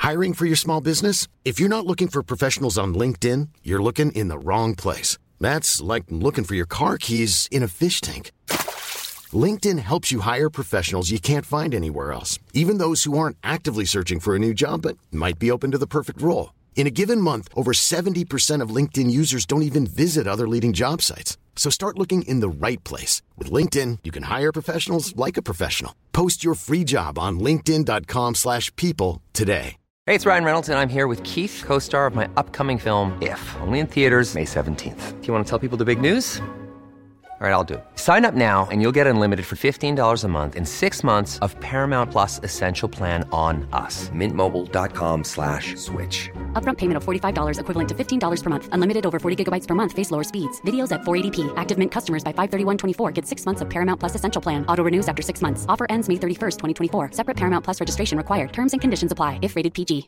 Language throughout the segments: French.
Hiring for your small business? If you're not looking for professionals on LinkedIn, you're looking in the wrong place. That's like looking for your car keys in a fish tank. LinkedIn helps you hire professionals you can't find anywhere else, even those who aren't actively searching for a new job but might be open to the perfect role. In a given month, over 70% of LinkedIn users don't even visit other leading job sites. So start looking in the right place. With LinkedIn, you can hire professionals like a professional. Post your free job on linkedin.com/people today. Hey, it's Ryan Reynolds, and I'm here with Keith, co-star of my upcoming film, If, only in theaters May 17th. Do you want to tell people the big news? All right, I'll do it. Sign up now and you'll get unlimited for $15 a month and 6 months of Paramount Plus Essential Plan on us. MintMobile.com/switch. Upfront payment of $45 equivalent to $15 per month. Unlimited over 40 gigabytes per month. Face lower speeds. Videos at 480p. Active Mint customers by 531.24 get 6 months of Paramount Plus Essential Plan. Auto renews after 6 months. Offer ends May 31st, 2024. Separate Paramount Plus registration required. Terms and conditions apply if rated PG.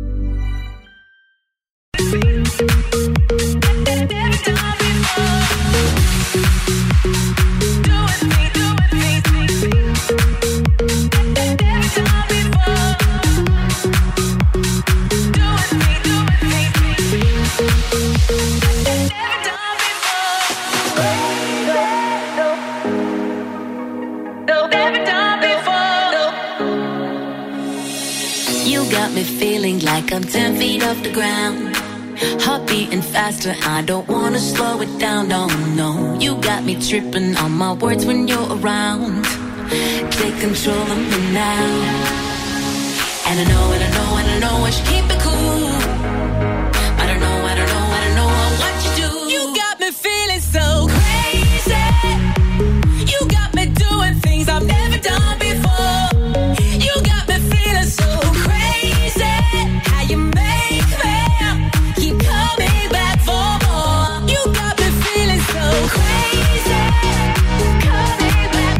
Got me feeling like I'm 10 feet off the ground. Heart beating faster, I don't wanna slow it down, no, no. You got me tripping on my words when you're around. Take control of me now. And I know I should keep it cool. I don't know what you do. You got me feeling so crazy. You got me doing things I've never done before. You got me feeling so crazy. How you make me keep coming back for more. You got me feeling so crazy. Coming back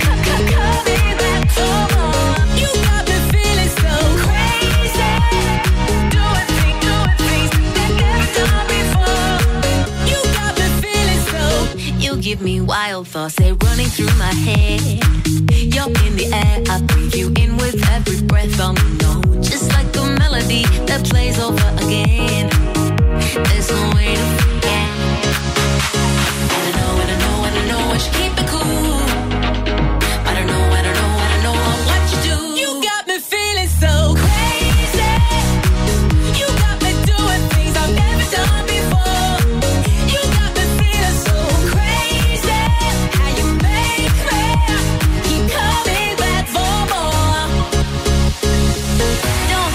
for more. You got me feeling so crazy. Doing things that never done before. You got me feeling so. You give me wild thoughts, they running through my head. You're in the air, I breathe you in with every breath. Oh no, just like a melody that plays over again. There's no way to forget. And I know I should keep it cool. I don't know what you do. You got me feeling so crazy. You got me doing things I've never done before. You got me feeling so crazy. How you make me keep coming back for more. Don't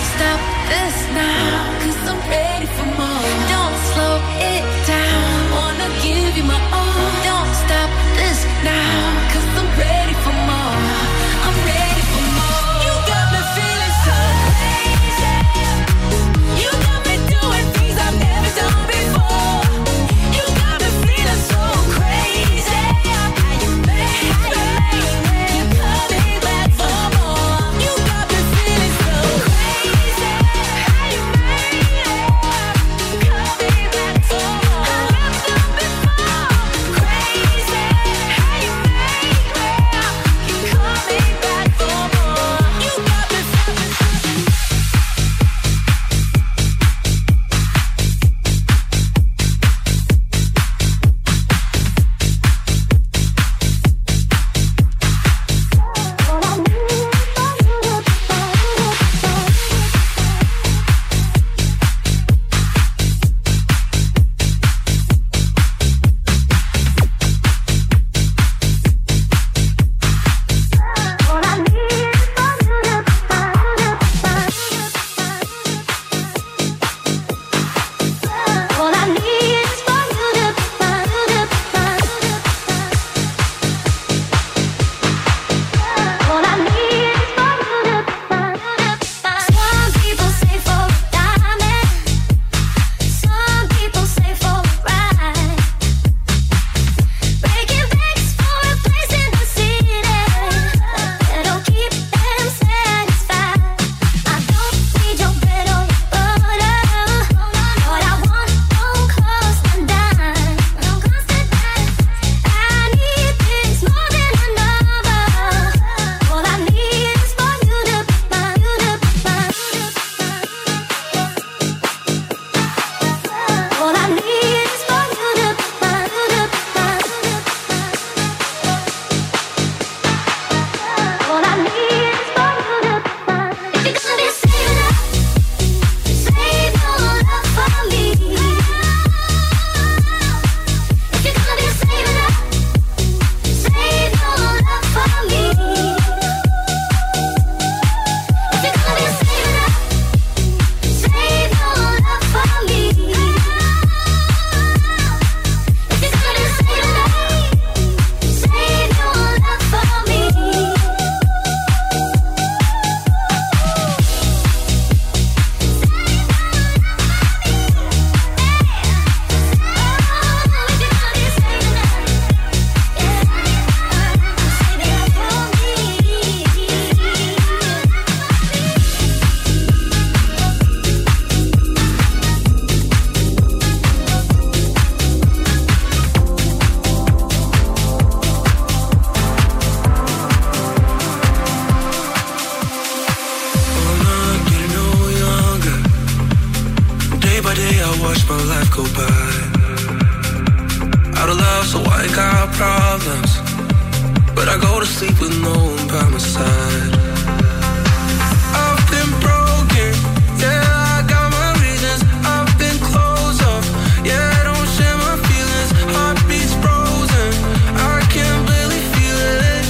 watch my life go by. Out of love, so I got problems, but I go to sleep with no one by my side. I've been broken, yeah, I got my reasons. I've been closed off, yeah, I don't share my feelings. Heartbeats frozen, I can't barely feel it.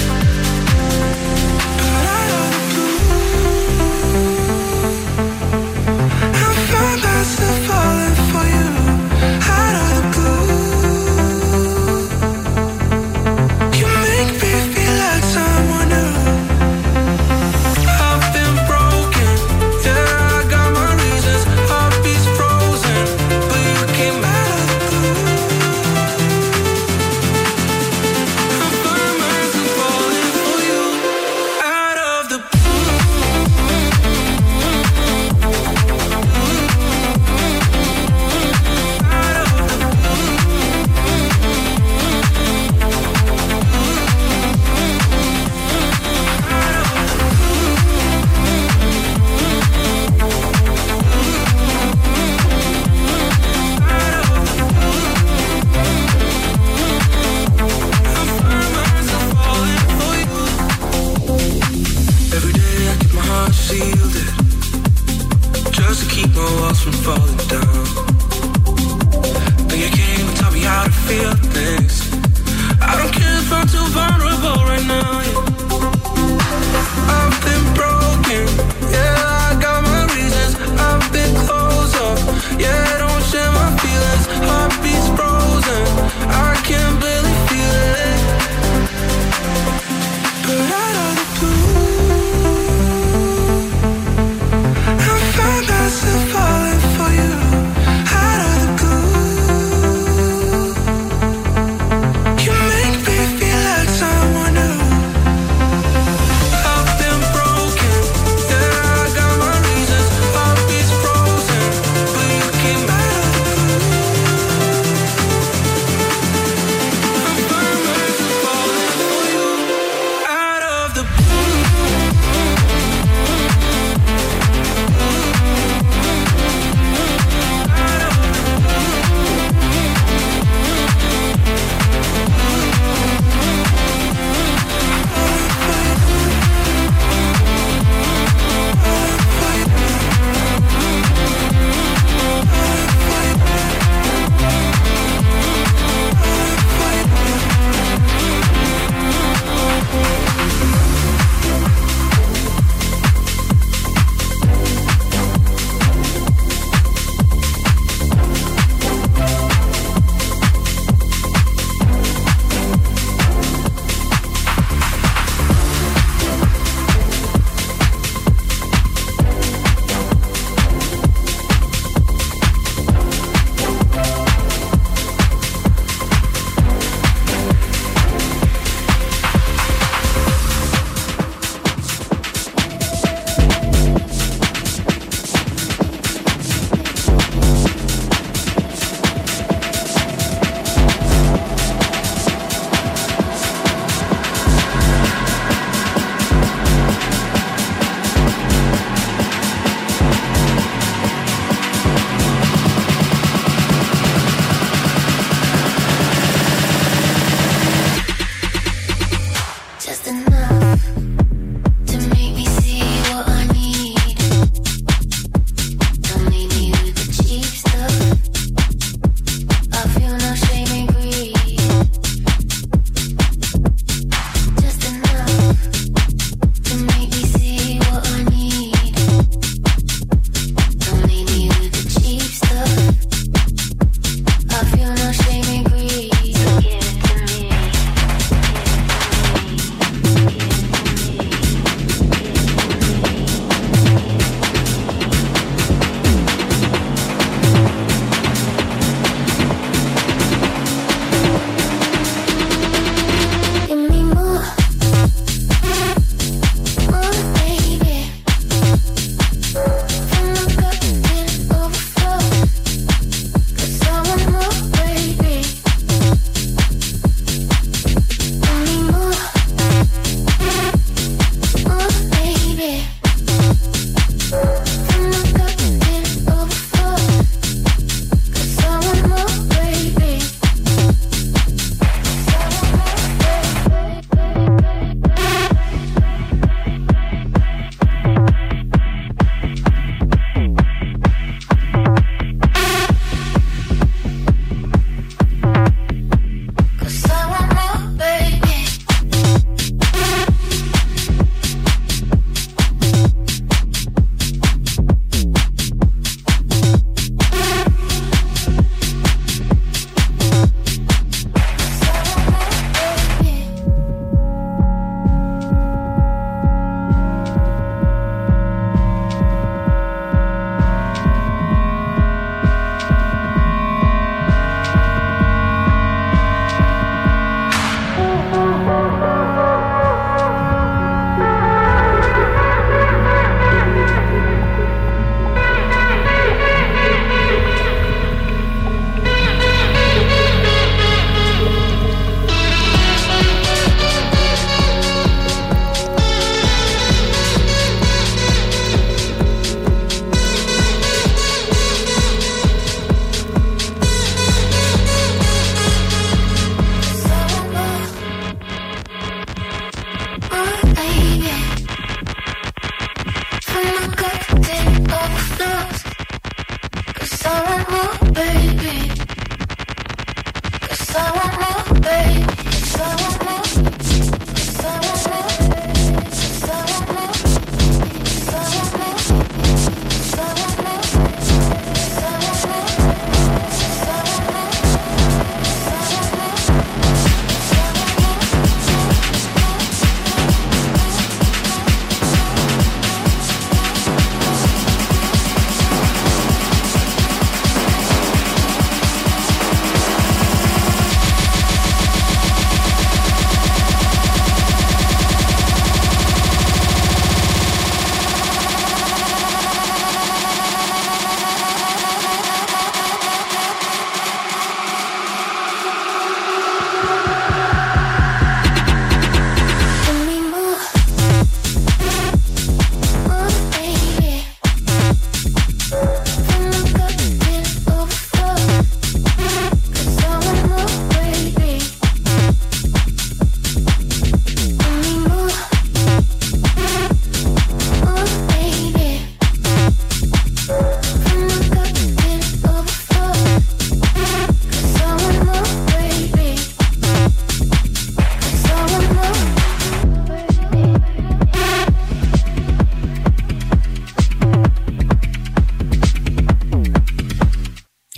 But out of the blue, I find myself falling for you. Out of the blue, you make me feel like someone new. I've been broken, yeah, I got my reasons. Heartbeats frozen, but you came out of the blue. I find myself falling for you. Out of the blue. Out of the every day I keep my heart shielded, just to keep my walls from falling down. Then you came and taught me how to feel things. I don't care if I'm too vulnerable right now, yeah. I've been broken, yeah, I got my reasons. I've been closed off, yeah, I don't share my feelings. Heartbeats frozen, I can't barely feel it. But out of the blue, I find myself falling for you. Out of the blue, you make me feel like someone new. I've been broken.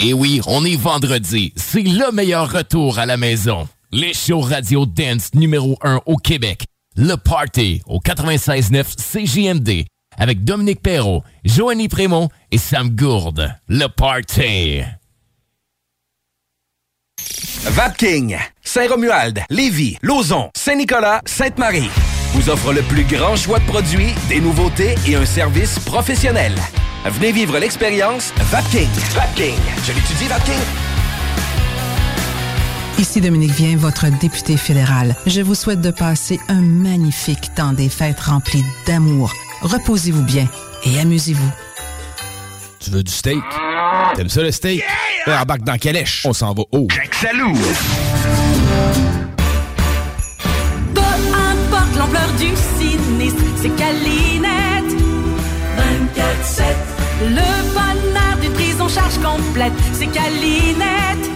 Et oui, on est vendredi. C'est le meilleur retour à la maison. Les shows radio dance numéro 1 au Québec. Le Party au 96.9 CJMD. Avec Dominique Perrault, Joanie Prémont et Sam Gourde. Le Party. Vapking, Saint-Romuald, Lévis, Lauson, Saint-Nicolas, Sainte-Marie vous offre le plus grand choix de produits, des nouveautés et un service professionnel. Venez vivre l'expérience Vapking. Vapking. Je l'étudie, Vapking. Ici Dominique Vien, votre député fédéral. Je vous souhaite de passer un magnifique temps des fêtes rempli d'amour. Reposez-vous bien et amusez-vous. Tu veux du steak? T'aimes ça le steak? Yeah! Embarque dans Calèche. On s'en va haut. Jacques Salou. Peu importe l'ampleur du sinistre, c'est Calinette. 24/7. Le bonheur d'une prise en charge complète, c'est Calinette.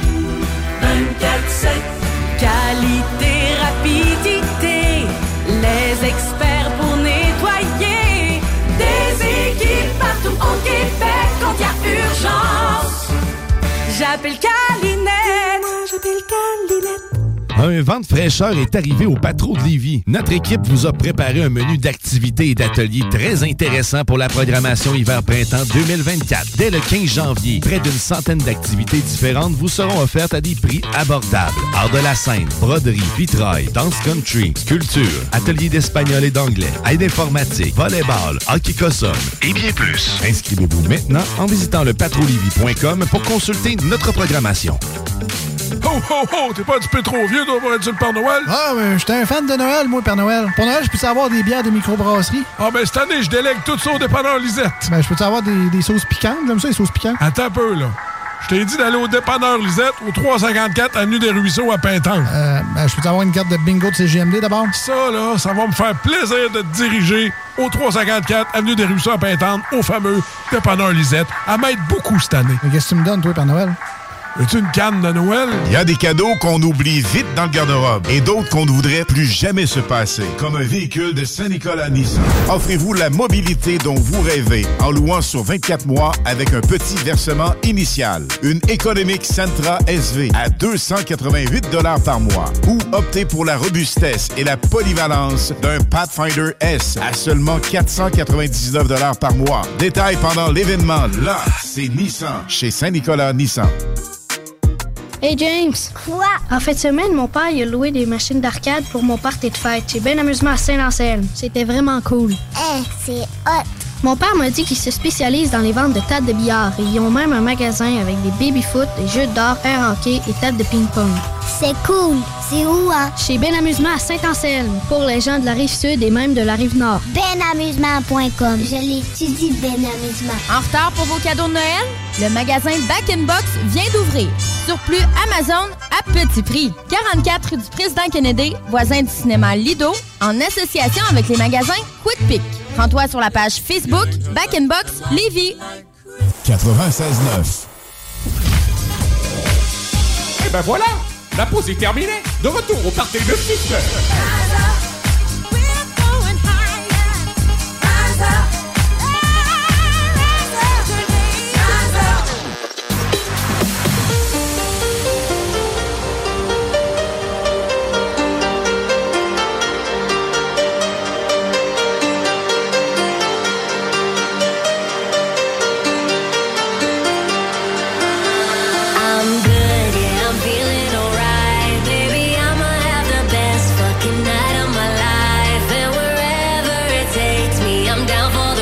24/7. Qualité, rapidité, les experts pour nettoyer. Des équipes partout au Québec quand il y a urgence. J'appelle Calinette. Moi, j'appelle Calinette. Un vent de fraîcheur est arrivé au Patro de Lévis. Notre équipe vous a préparé un menu d'activités et d'ateliers très intéressant pour la programmation hiver-printemps 2024. Dès le 15 janvier, près d'une centaine d'activités différentes vous seront offertes à des prix abordables. Art de la scène, broderie, vitrail, danse country, sculpture, ateliers d'espagnol et d'anglais, aide informatique, volleyball, hockey cossum et bien plus. Inscrivez-vous maintenant en visitant le patrolivie.com pour consulter notre programmation. Ho, ho, ho! T'es pas un petit peu trop vieux, toi, pour être sur le Père Noël? Ah, mais j'étais un fan de Noël, moi, Père Noël. Pour Noël, je peux avoir des bières de microbrasserie? Ah, ben cette année, je délègue tout ça au dépanneur Lisette. Ben, je peux avoir des sauces piquantes? J'aime ça, les sauces piquantes. Attends un peu, là. Je t'ai dit d'aller au dépanneur Lisette, au 354 Avenue des Ruisseaux à Pintanque. Ben, je peux avoir une carte de bingo de CGMD d'abord? Ça, là, ça va me faire plaisir de te diriger au 354 Avenue des Ruisseaux à Pintanque, au fameux dépanneur Lisette. À m'aide beaucoup cette année. Mais qu'est-ce que tu me donnes, toi, Père Noël? As-tu une canne de Noël? Il y a des cadeaux qu'on oublie vite dans le garde-robe et d'autres qu'on ne voudrait plus jamais se passer, comme un véhicule de Saint-Nicolas Nissan. Offrez-vous la mobilité dont vous rêvez en louant sur 24 mois avec un petit versement initial. Une économique Sentra SV à 288 $ par mois ou optez pour la robustesse et la polyvalence d'un Pathfinder S à seulement 499 $ par mois. Détail pendant l'événement. Là, c'est Nissan chez Saint-Nicolas Nissan. Hey James! Quoi? En fin de semaine, mon père il a loué des machines d'arcade pour mon party de fête. J'ai bien amusement à Saint-Anselme. C'était vraiment cool. C'est hot! Mon père m'a dit qu'il se spécialise dans les ventes de tables de billard et ils ont même un magasin avec des baby-foot, des jeux d'or, air hockey et tables de ping-pong. C'est cool! C'est où, hein? Chez Ben Amusement à Saint-Anselme, pour les gens de la Rive-Sud et même de la Rive-Nord. Benamusement.com. Je l'étudie, Ben Amusement. En retard pour vos cadeaux de Noël? Le magasin Back in Box vient d'ouvrir. Surplus Amazon à petit prix. 44 rue du Président Kennedy, voisin du cinéma Lido, en association avec les magasins Quick Pick. Rends-toi sur la page Facebook Back in Box Lévis. 96.9. Et ben voilà! La pause est terminée. De retour au party de 6 heures. Down for the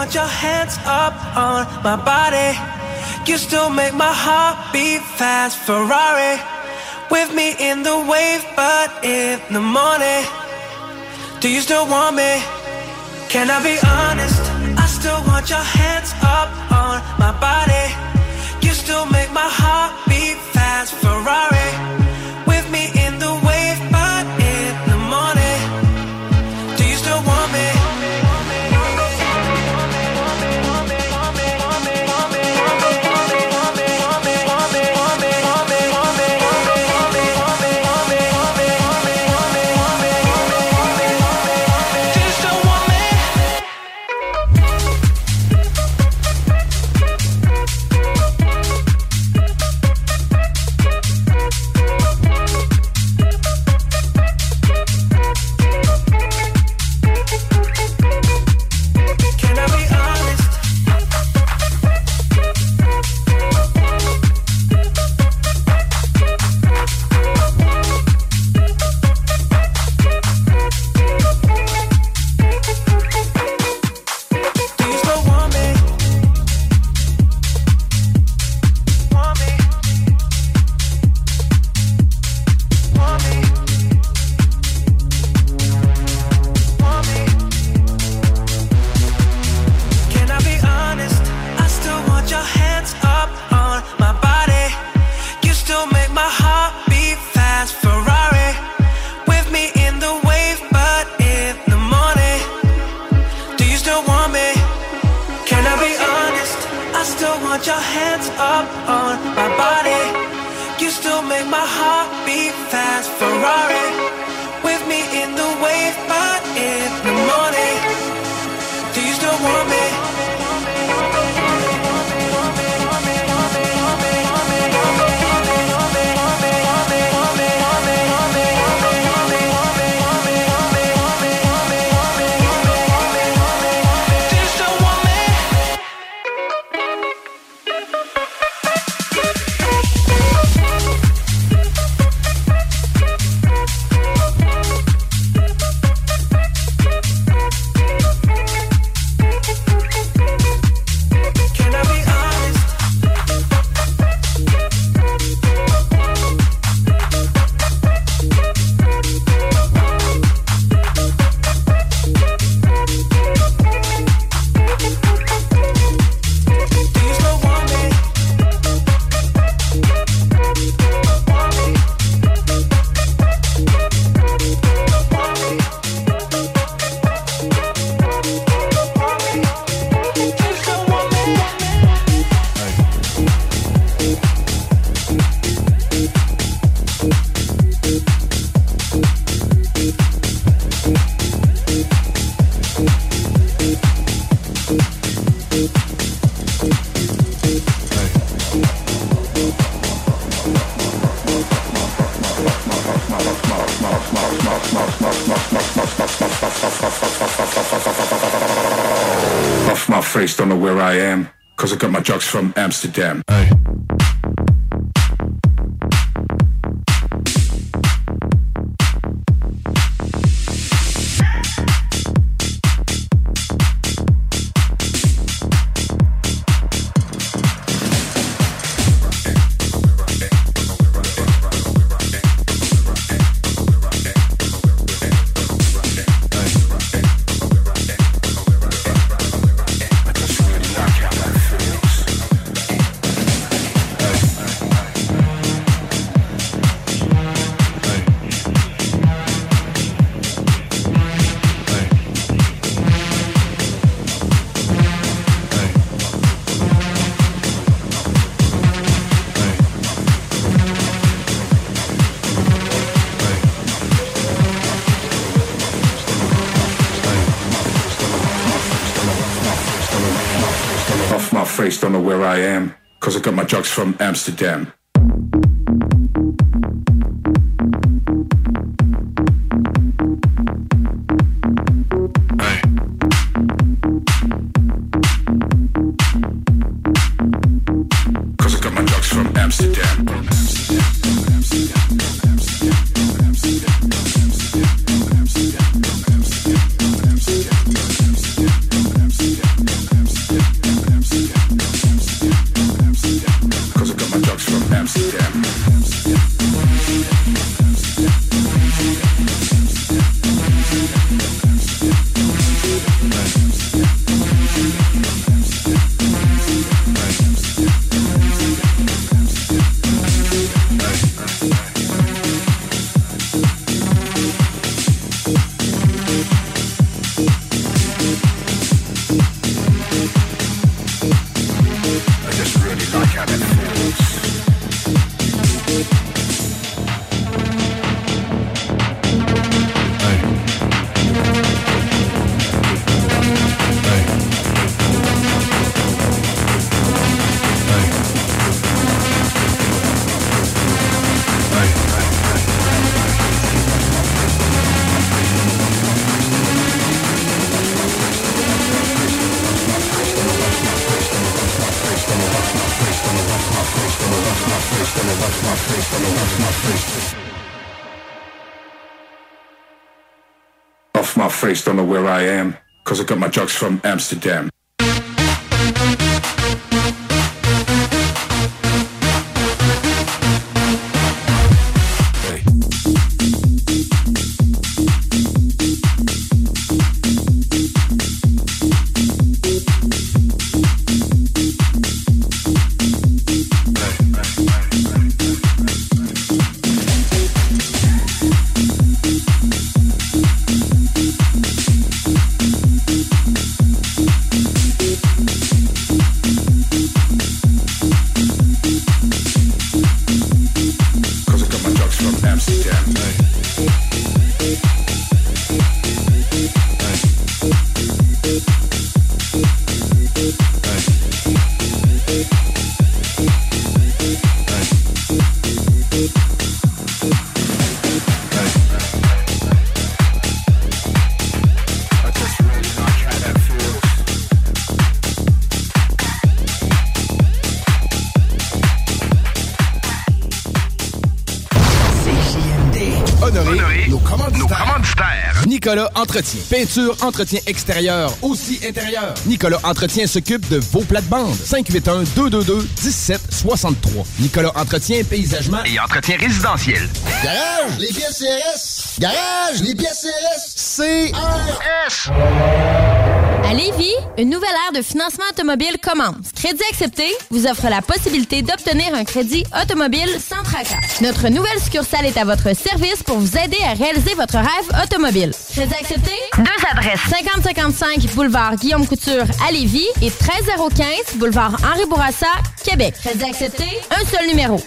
want your hands up on my body. You still make my heart beat fast. Ferrari with me in the wave, but in the morning. Do you still want me? Can I be honest? I still want your hands up on my body. You still make my heart beat fast. Ferrari with me in the wave, but in the morning. Do you still want me? Off my face, don't know where I am, cause I got my drugs from Amsterdam. Hey. Don't know where I am, cause I got my drugs from Amsterdam. Cause I got my drugs from Amsterdam. from Amsterdam. Off my face, don't know where I am, cause I got my drugs from Amsterdam. Nicolas Entretien. Peinture, entretien extérieur, aussi intérieur. Nicolas Entretien s'occupe de vos plates-bandes. 581-222-1763. Nicolas Entretien, paysagement et entretien résidentiel. Garage, les pièces CRS. Garage, les pièces CRS. CRS. À Lévis, une nouvelle ère de financement automobile commence. Crédit Accepté vous offre la possibilité d'obtenir un crédit automobile sans tracas. Notre nouvelle succursale est à votre service pour vous aider à réaliser votre rêve automobile. Crédit Accepté, 2 adresses. 5055 boulevard Guillaume Couture à Lévis et 13015 boulevard Henri Bourassa, Québec. Crédit Accepté, un seul numéro.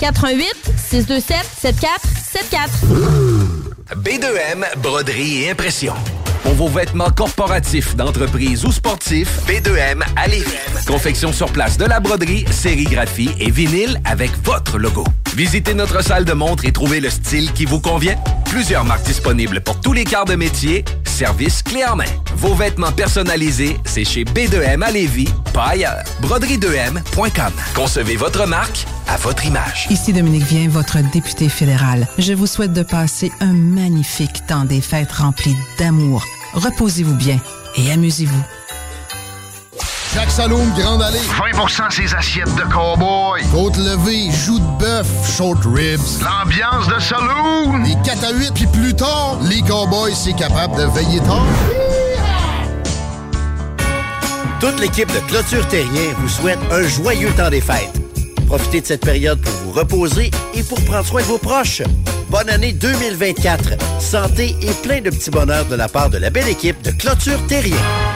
418-627-7474. B2M, broderie et impression. Pour vos vêtements corporatifs, d'entreprise ou sportifs, B2M à Lévis. Confection sur place de la broderie, sérigraphie et vinyle avec votre logo. Visitez notre salle de montre et trouvez le style qui vous convient. Plusieurs marques disponibles pour tous les quarts de métier. Service clé en main. Vos vêtements personnalisés, c'est chez B2M à Lévis, pas ailleurs. Broderie2M.com. Concevez votre marque à votre image. Ici Dominique Vien, votre député fédéral. Je vous souhaite de passer un magnifique temps des fêtes rempli d'amour. Reposez-vous bien et amusez-vous. Jacques Saloum, Grande Allée. 20% ses assiettes de cow-boy. Côte levée, joues de bœuf, short ribs. L'ambiance de saloon. Les 4 à 8, puis plus tard, les cowboys, c'est capable de veiller tard. Toute l'équipe de Clôture Terrien vous souhaite un joyeux temps des fêtes. Profitez de cette période pour vous reposer et pour prendre soin de vos proches. Bonne année 2024. Santé et plein de petits bonheurs de la part de la belle équipe de Clôture Terrien.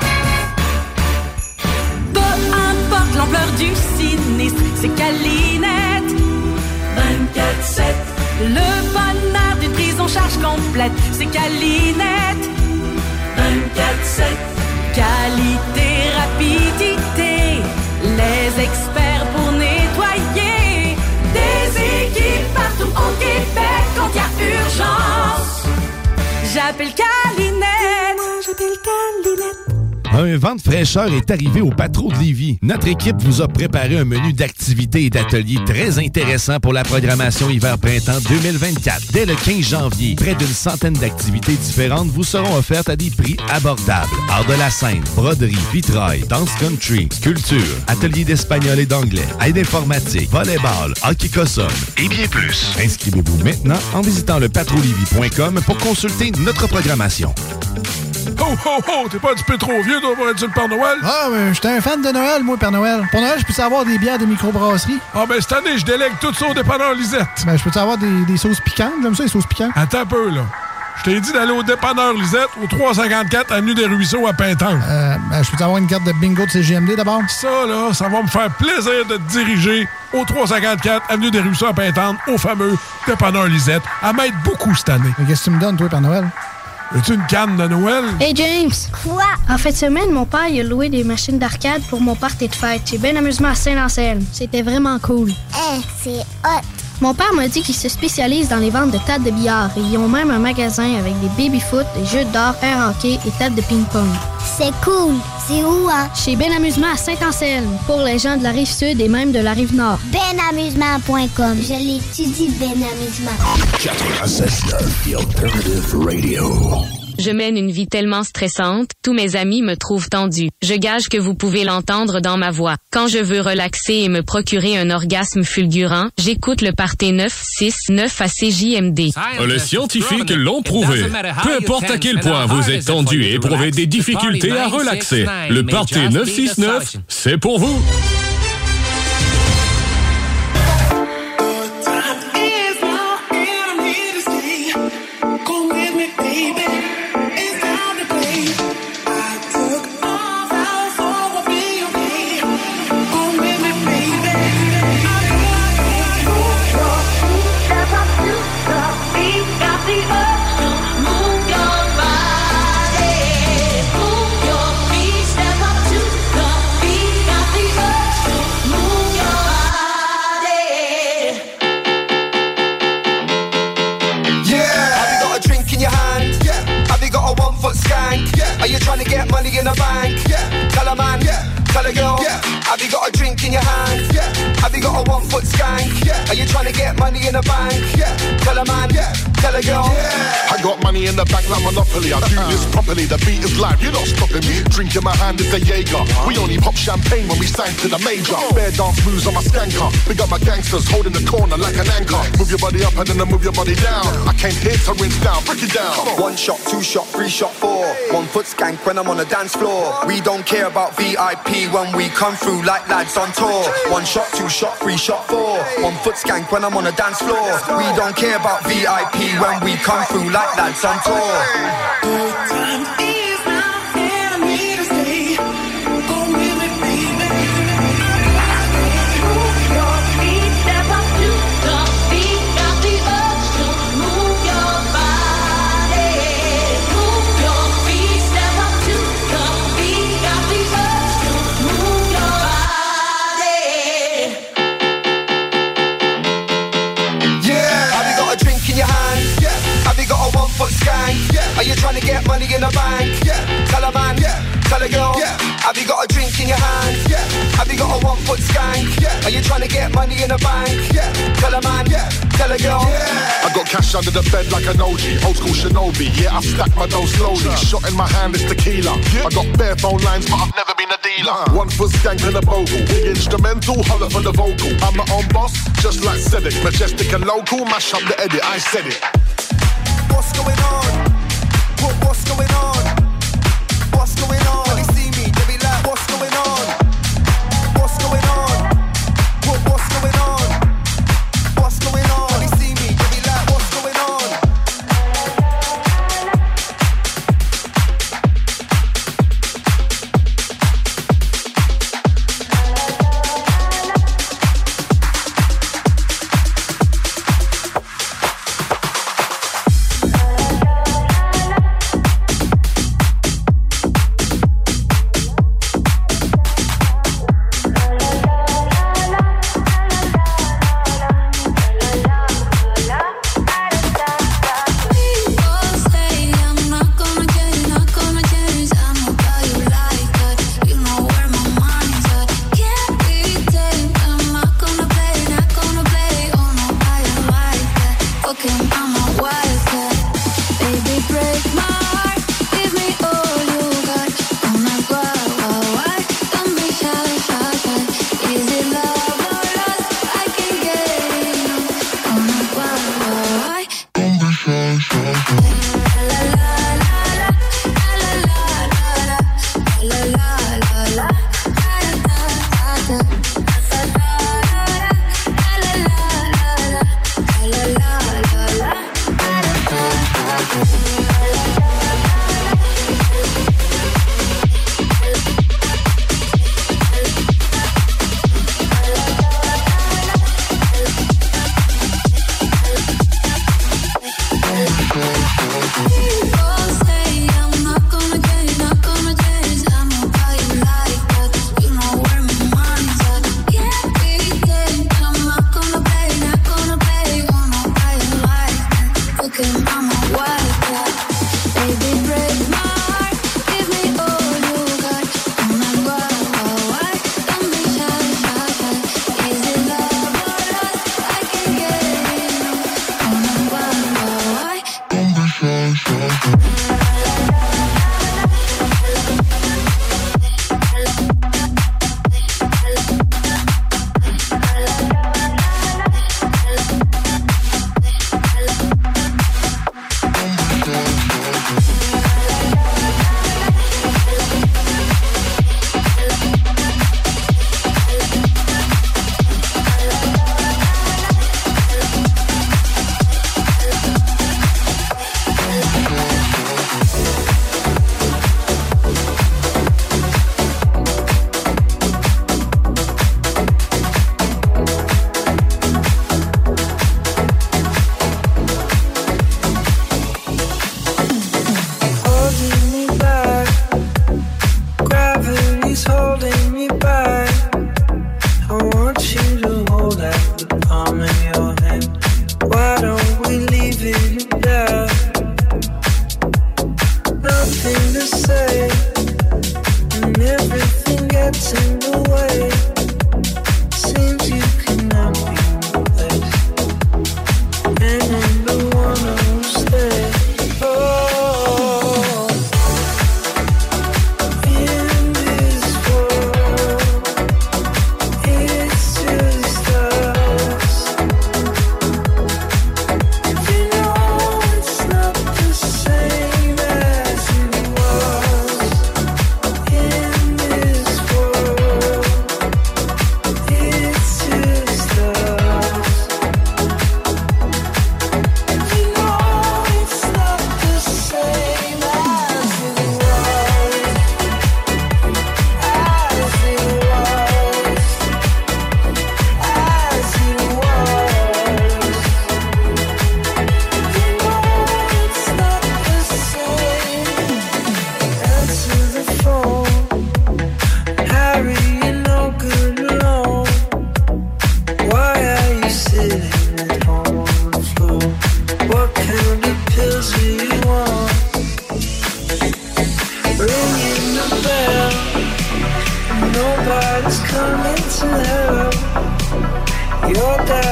Peu importe l'ampleur du sinistre, c'est Calinette. 24/7. Le bonheur d'une prise en charge complète, c'est Calinette. 24/7. Qualité, rapidité, les experts pour nettoyer. Des équipes partout au Québec quand il y a urgence. J'appelle Calinette. Moi, j'appelle Calinette. Un vent de fraîcheur est arrivé au Patro de Lévis. Notre équipe vous a préparé un menu d'activités et d'ateliers très intéressant pour la programmation hiver-printemps 2024. Dès le 15 janvier, près d'une centaine d'activités différentes vous seront offertes à des prix abordables. Art de la scène, broderie, vitrail, danse country, sculpture, ateliers d'espagnol et d'anglais, aide informatique, volleyball, hockey cossum et bien plus. Inscrivez-vous maintenant en visitant le patrolivy.com pour consulter notre programmation. Ho, ho, ho! T'es pas un petit peu trop vieux, toi, pour être sur le Père Noël? Ah, mais j'étais un fan de Noël, moi, Père Noël. Pour Noël, je peux avoir des bières de microbrasserie? Ah, ben cette année, je délègue tout ça au dépanneur Lisette. Ben, je peux avoir des sauces piquantes? J'aime ça, les sauces piquantes. Attends un peu, là. Je t'ai dit d'aller au dépanneur Lisette, au 354 Avenue des Ruisseaux à Pintanque. Ben, je peux avoir une carte de bingo de CGMD d'abord? Ça, là, ça va me faire plaisir de te diriger au 354 Avenue des Ruisseaux à Pintanque, au fameux dépanneur Lisette, à m'aide beaucoup cette année. Mais qu'est-ce que tu me donnes, toi, Père Noël? As-tu une canne de Noël? Hey James! Quoi? En fin de semaine, mon père il a loué des machines d'arcade pour mon party de fête. J'ai bien amusement à Saint-Anselme. C'était vraiment cool. C'est hot! Mon père m'a dit qu'il se spécialise dans les ventes de tables de billard et ils ont même un magasin avec des baby-foot, des jeux d'or, air hockey et tables de ping-pong. C'est cool! C'est où, hein? Chez Ben Amusement à Saint-Anselme, pour les gens de la Rive-Sud et même de la Rive-Nord. Benamusement.com. Je l'étudie, Ben Amusement. 96.9, The Alternative Radio. Je mène une vie tellement stressante, tous mes amis me trouvent tendue. Je gage que vous pouvez l'entendre dans ma voix. Quand je veux relaxer et me procurer un orgasme fulgurant, j'écoute le Party 969 à CJMD. Les scientifiques l'ont prouvé. Peu importe à quel point vous êtes tendu et éprouvez des difficultés à relaxer, le Party 969, c'est pour vous. Are you trying to get money in the bank? Yeah. Tell a man, yeah. Tell a girl, yeah. Have you got a drink in your hand? Yeah. Have you got a 1 foot skank? Yeah. Are you trying to get money in the bank? Yeah. Tell a man, yeah. Tell a girl, yeah. I got money in the bank like Monopoly. I do this properly. The beat is live. You're not stopping me. Drink in my hand is a Jaeger. We only pop champagne when we sign to the major. Bare dance moves on my skanker. Big up my gangsters holding the corner like an anchor. Move your body up and then move your body down. I came here to rinse down. Break it down. 1 shot, 2 shot, 3 shot, 4. 1 foot skank when I'm on the dance floor. We don't care about VIP when we come through like lads on tour. 1 shot, 2 shot, 3 shot, 4. 1 foot skank when I'm on the dance floor. We don't care about VIP when we come through like lads on tour. Good time is now and I need to stay. Go with me, baby. Move your feet, step up to the beat. Got the urge to move your body. Move your feet, step up to the beat. Got the urge to move your body. Yeah. Have you got a drink in your hand? Yeah. Have you got a 1 foot skank? Yeah. Are you trying to get money in the bank? Yeah. Tell a man, yeah. Tell a girl, yeah. Have you got a drink in your hand? Yeah. Have you got a 1 foot skank? Yeah. Are you trying to get money in the bank? Yeah. Tell a man, yeah. Tell a girl, yeah. I got cash under the bed like an OG, old school shinobi. Yeah, I stack my dough slowly. Shot in my hand is tequila. I got bare phone lines, but I've never been a dealer. 1 foot skank and a bogle. Big instrumental, holler for the vocal. I'm my own boss, just like Cedric. Majestic and local, mash up the edit. I said it. What's going on? What's going on? What's going on? When they see me, they be like, what's going on? What's going on? What's going on? What's going on? When they see me, they be like, what's going on?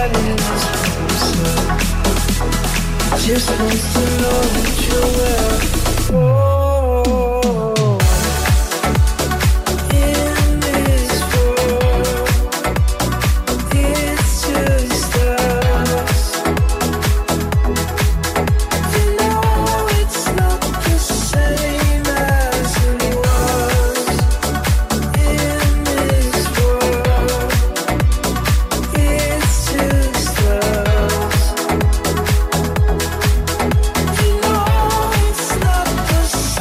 standing us closer. Just wants to know that you're well. In this world, it's just us. You know it's not the same as it was. In this world, it's just us. You know it's not the same.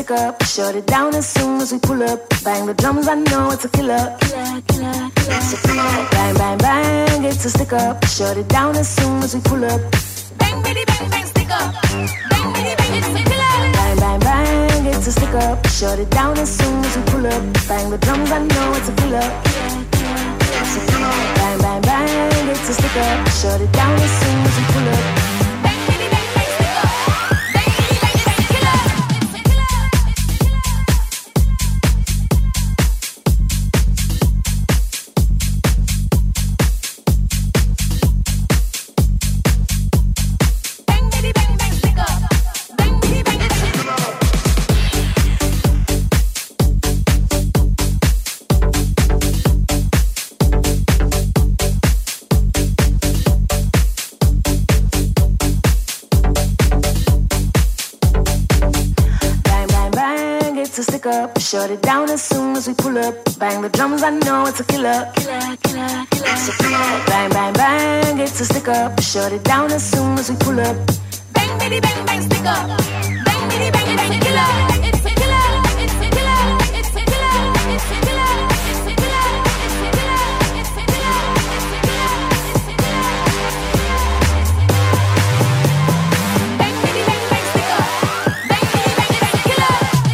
stick up. Shut it down as soon as we pull up. Bang the drums, I know it's a killer. Bang, bang, bang, it's a stick up. Shut it down as soon as we pull up. Bang, bitty, bang, bang, stick up. Bang, bitty, bang, it's a killer. Bang, bang, bang, it's a stick up. Shut it down as soon as we pull up. Bang the drums, I know it's a killer. Bang, bang, bang, it's a stick up. Shut it down as soon as we pull up. Shut it down as soon as we pull up. Bang the drums, I know it's a killer. Bang, bang, bang, it's a stick up. Shut it down as soon as we pull up. Bang, bitty, bang, bang, stick up. Bang, bitty, bang, it's a killer. It's a killer. It's a killer. It's a killer. It's a killer. It's a killer. It's a killer. Bang, bitty, bang, bang, stick up. Bang, bitty, bang, it's a killer.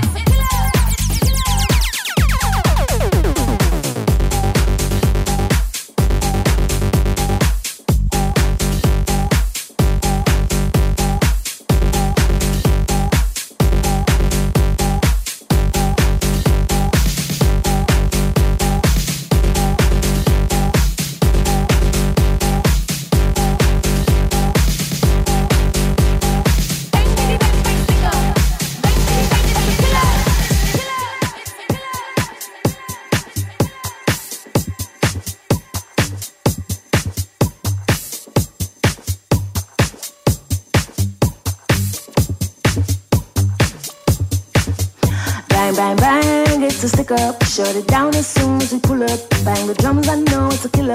Bang, bang, it's a stick up. Shut it down as soon as we pull up. Bang the drums, I know it's a killer.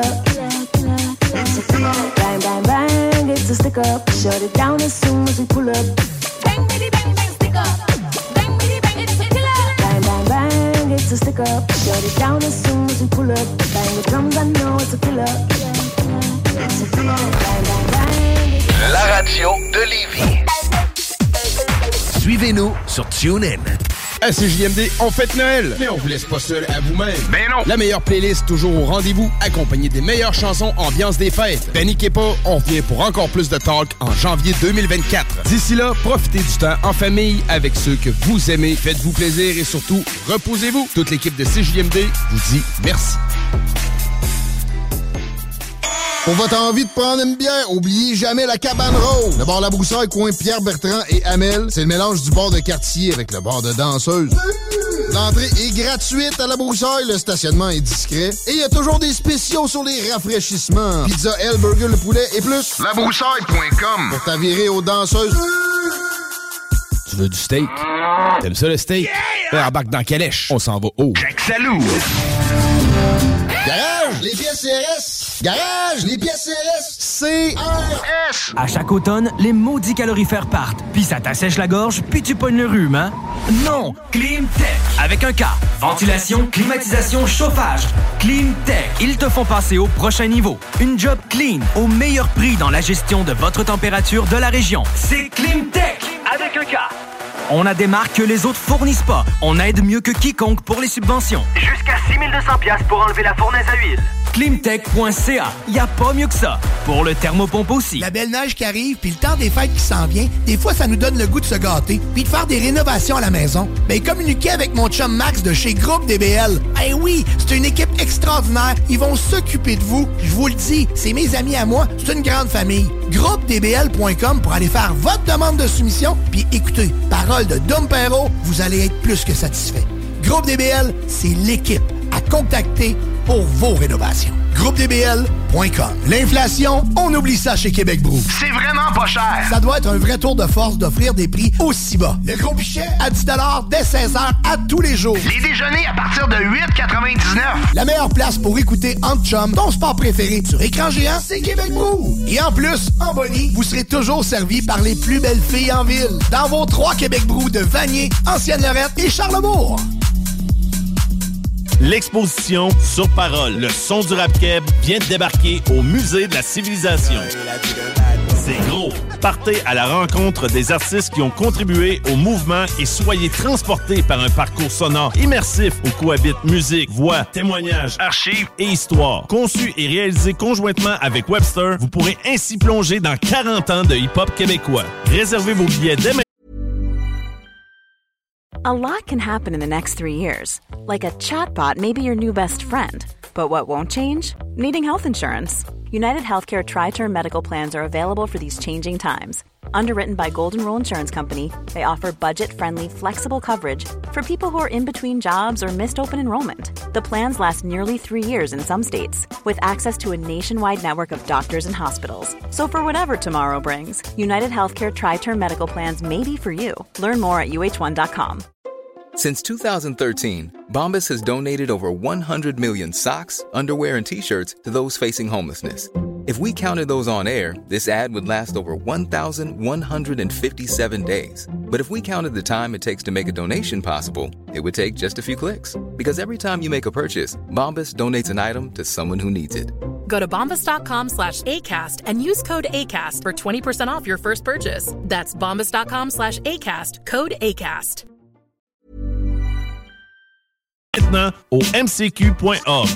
Bang, bang, bang, it's a stick up. Shut it down as soon as we pull up. Bang, bitty, bang, bang, stick up. Bang, bitty, bang, it's a killer. Bang, bang, bang, it's a stick up. Shut it down as soon as we pull up. Bang the drums, I know it's a killer. Bang, bang, bang. La radio de Lévis. Suivez-nous sur TuneIn. À CJMD, on fête Noël, mais on vous laisse pas seul à vous-même. Ben non! La meilleure playlist toujours au rendez-vous, accompagnée des meilleures chansons ambiance des fêtes. Paniquez pas, on revient pour encore plus de talk en janvier 2024. D'ici là, profitez du temps en famille avec ceux que vous aimez. Faites-vous plaisir et surtout, reposez-vous. Toute l'équipe de CJMD vous dit merci. Pour votre envie de prendre une bière, oubliez jamais la Cabane Rose. Le bar La Broussaille, coin Pierre-Bertrand et Hamel, c'est le mélange du bar de quartier avec le bar de danseuse. L'entrée est gratuite à La Broussaille, le stationnement est discret et il y a toujours des spéciaux sur les rafraîchissements. Pizza, L, burger, le poulet et plus. Labroussaille.com pour t'avirer aux danseuses. Tu veux du steak? T'aimes ça le steak? Yeah! Embarque dans Calèche, on s'en va haut. Jack Salou! Garage, les pièces CRS! Garage, les pièces CRS! CRS! À chaque automne, les maudits calorifères partent. Puis ça t'assèche la gorge, puis tu pognes le rhume, hein? Non! Climtech! Avec un K. Ventilation, climatisation, chauffage. Climtech. Ils te font passer au prochain niveau. Une job clean, au meilleur prix dans la gestion de votre température de la région. C'est Climtech! Avec un K. On a des marques que les autres fournissent pas. On aide mieux que quiconque pour les subventions. Jusqu'à 6 200$ pour enlever la fournaise à huile. Climtech.ca. Y a pas mieux que ça. Pour le thermopompe aussi. La belle neige qui arrive, puis le temps des fêtes qui s'en vient, des fois, ça nous donne le goût de se gâter, puis de faire des rénovations à la maison. Ben, communiquez avec mon chum Max de chez Groupe DBL. Eh oui, c'est une équipe extraordinaire. Ils vont s'occuper de vous. Je vous le dis, c'est mes amis à moi. C'est une grande famille. GroupeDBL.com pour aller faire votre demande de soumission. Puis écoutez, parole de Dom Perrault, vous allez être plus que satisfait. Groupe DBL, c'est l'équipe à contacter pour vos rénovations. GroupeDBL.com. L'inflation, on oublie ça chez Québec Brou. C'est vraiment pas cher. Ça doit être un vrai tour de force d'offrir des prix aussi bas. Le gros pichet à 10 $ dès 16h à tous les jours. Les déjeuners à partir de 8,99. La meilleure place pour écouter Entre Chum, ton sport préféré sur écran géant, c'est Québec Brou. Et en plus, en bonnie, vous serez toujours servi par les plus belles filles en ville. Dans vos 3 Québec Brou de Vanier, Ancienne-Lorette et Charlebourg. L'exposition Sur Parole, le son du rap-keb vient de débarquer au Musée de la Civilisation. C'est gros. Partez à la rencontre des artistes qui ont contribué au mouvement et soyez transportés par un parcours sonore immersif où cohabitent musique, voix, témoignages, archives et histoire. Conçu et réalisé conjointement avec Webster, vous pourrez ainsi plonger dans 40 ans de hip-hop québécois. Réservez vos billets dès maintenant. A lot can happen in the next 3 years. Like a chatbot may be your new best friend. But what won't change? Needing health insurance. United Healthcare Tri-Term Medical Plans are available for these changing times. Underwritten by Golden Rule Insurance Company, they offer budget-friendly, flexible coverage for people who are in between jobs or missed open enrollment. The plans last nearly 3 years in some states, with access to a nationwide network of doctors and hospitals. So for whatever tomorrow brings, United Healthcare Tri-Term Medical Plans may be for you. Learn more at uh1.com. Since 2013, Bombas has donated over 100 million socks, underwear, and T-shirts to those facing homelessness. If we counted those on air, this ad would last over 1,157 days. But if we counted the time it takes to make a donation possible, it would take just a few clicks. Because every time you make a purchase, Bombas donates an item to someone who needs it. Go to bombas.com/ACAST and use code ACAST for 20% off your first purchase. That's bombas.com/ACAST, code ACAST. Maintenant au mcq.org.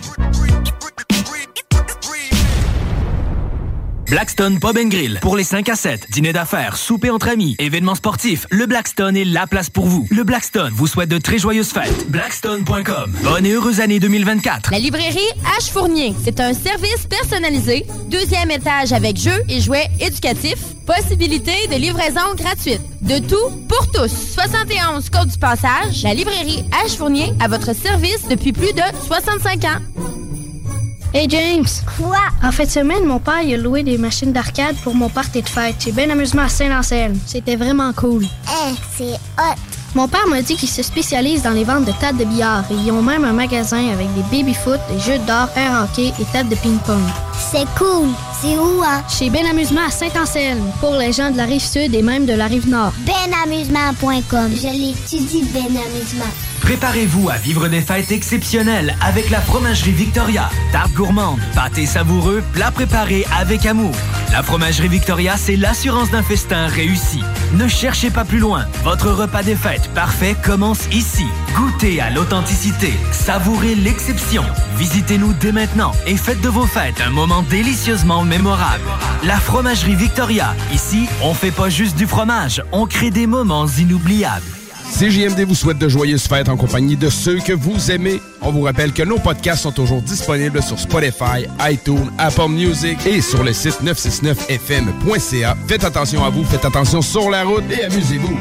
Blackstone Pub & Grill. Pour les 5 à 7, dîner d'affaires, souper entre amis, événements sportifs, le Blackstone est la place pour vous. Le Blackstone vous souhaite de très joyeuses fêtes. Blackstone.com. Bonne et heureuse année 2024. La librairie H. Fournier. C'est un service personnalisé, 2e étage avec jeux et jouets éducatifs, possibilité de livraison gratuite. De tout pour tous. 71 Côte du Passage, la librairie H. Fournier à votre service depuis plus de 65 ans. Hey James! Quoi? En fin de semaine, mon père il a loué des machines d'arcade pour mon party de fête. J'ai bien amusement à Saint-Anselme. C'était vraiment cool. C'est hot! Mon père m'a dit qu'ils se spécialisent dans les ventes de tables de billard et ils ont même un magasin avec des baby-foot, des jeux d'or, air hockey et tables de ping-pong. C'est cool! C'est où, hein? Chez Ben Amusement à Saint-Anselme, pour les gens de la Rive-Sud et même de la Rive-Nord. Benamusement.com. Je l'étudie, Ben Amusement. Préparez-vous à vivre des fêtes exceptionnelles avec la Fromagerie Victoria. Tarte gourmande, pâté savoureux, plats préparés avec amour. La Fromagerie Victoria, c'est l'assurance d'un festin réussi. Ne cherchez pas plus loin. Votre repas des fêtes parfait commence ici. Goûtez à l'authenticité. Savourez l'exception. Visitez-nous dès maintenant et faites de vos fêtes un moment délicieusement mémorable. La Fromagerie Victoria. Ici, on fait pas juste du fromage, on crée des moments inoubliables. CJMD vous souhaite de joyeuses fêtes en compagnie de ceux que vous aimez. On vous rappelle que nos podcasts sont toujours disponibles sur Spotify, iTunes, Apple Music et sur le site 969fm.ca. Faites attention à vous, faites attention sur la route et amusez-vous.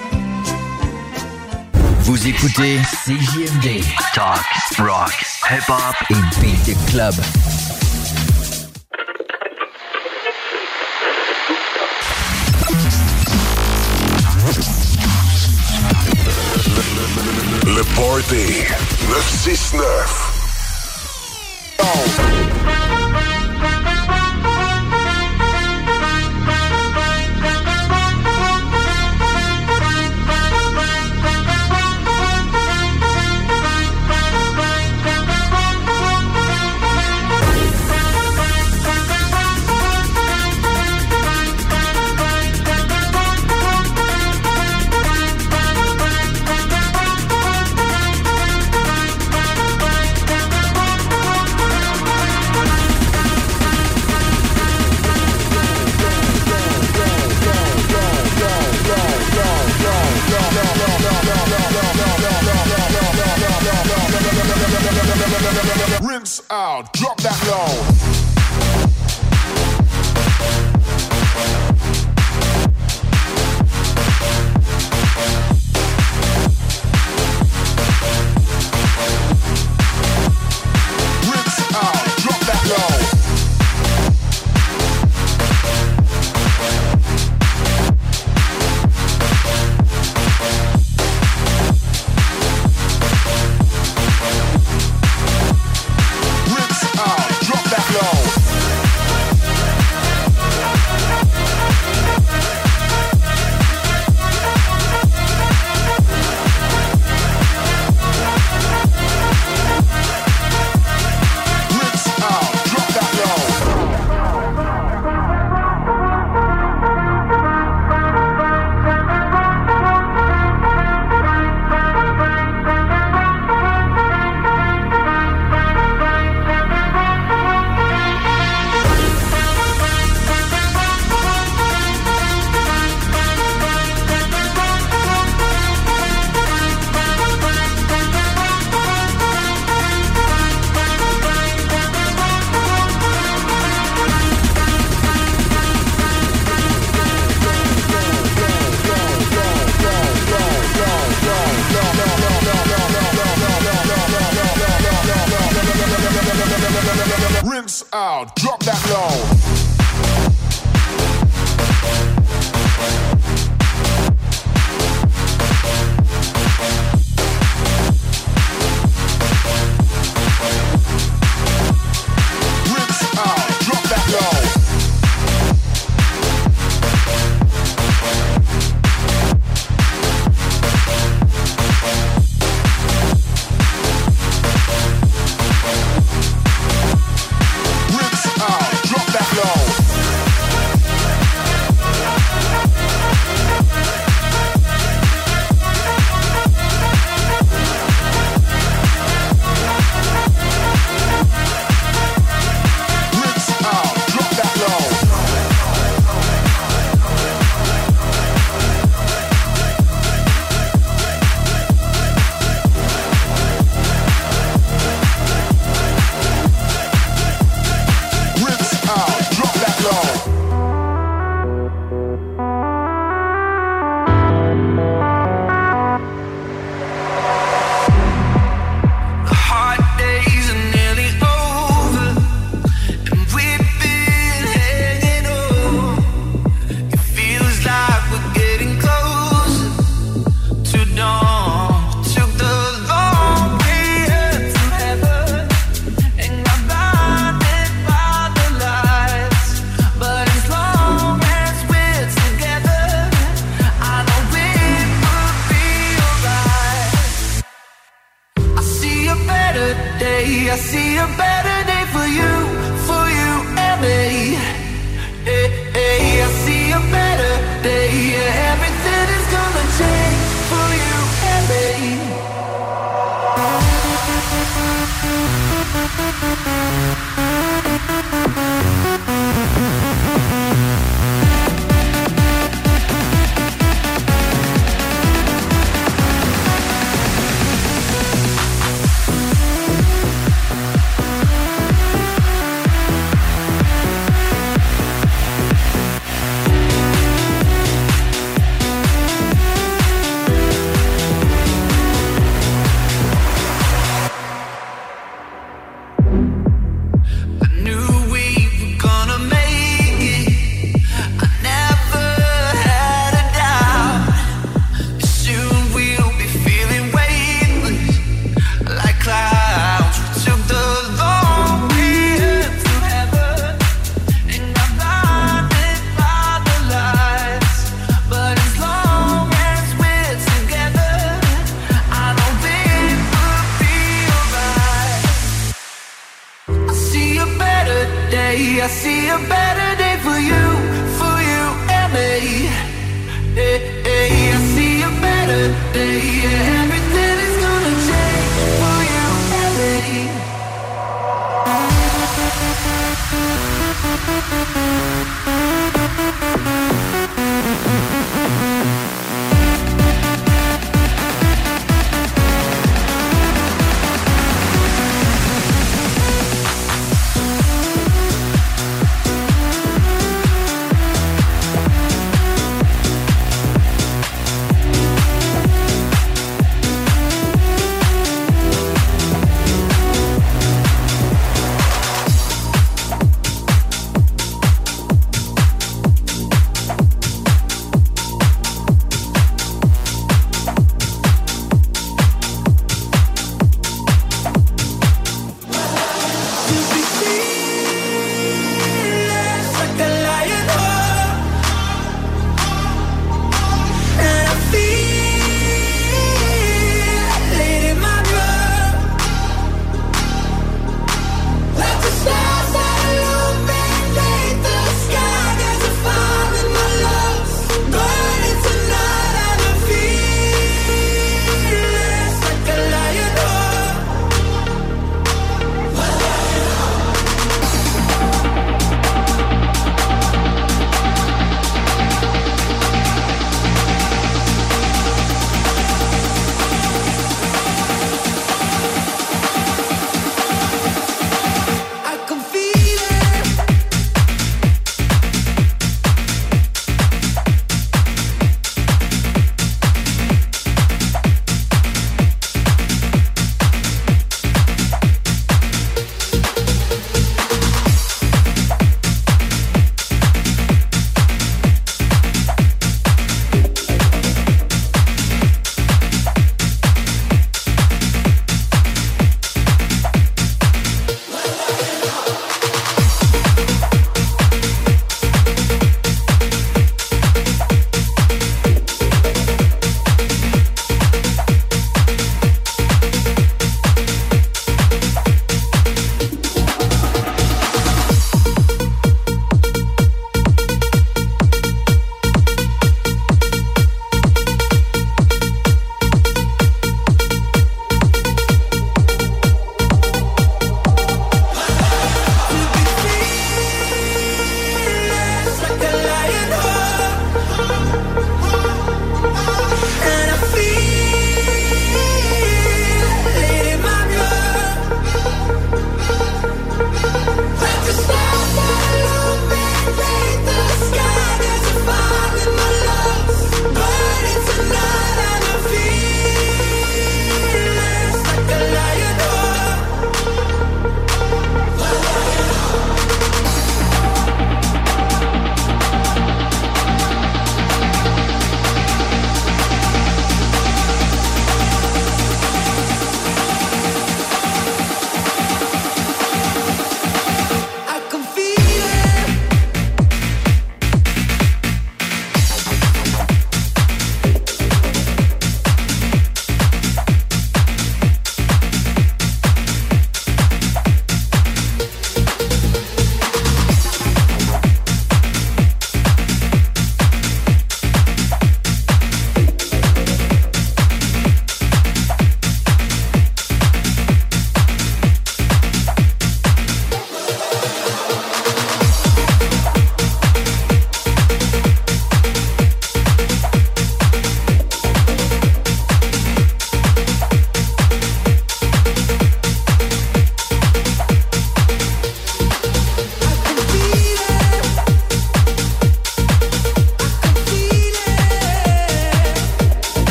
Vous écoutez CJMD. Talk, rock, hip-hop et beat club. Le Party 969. Rinse out, drop that low.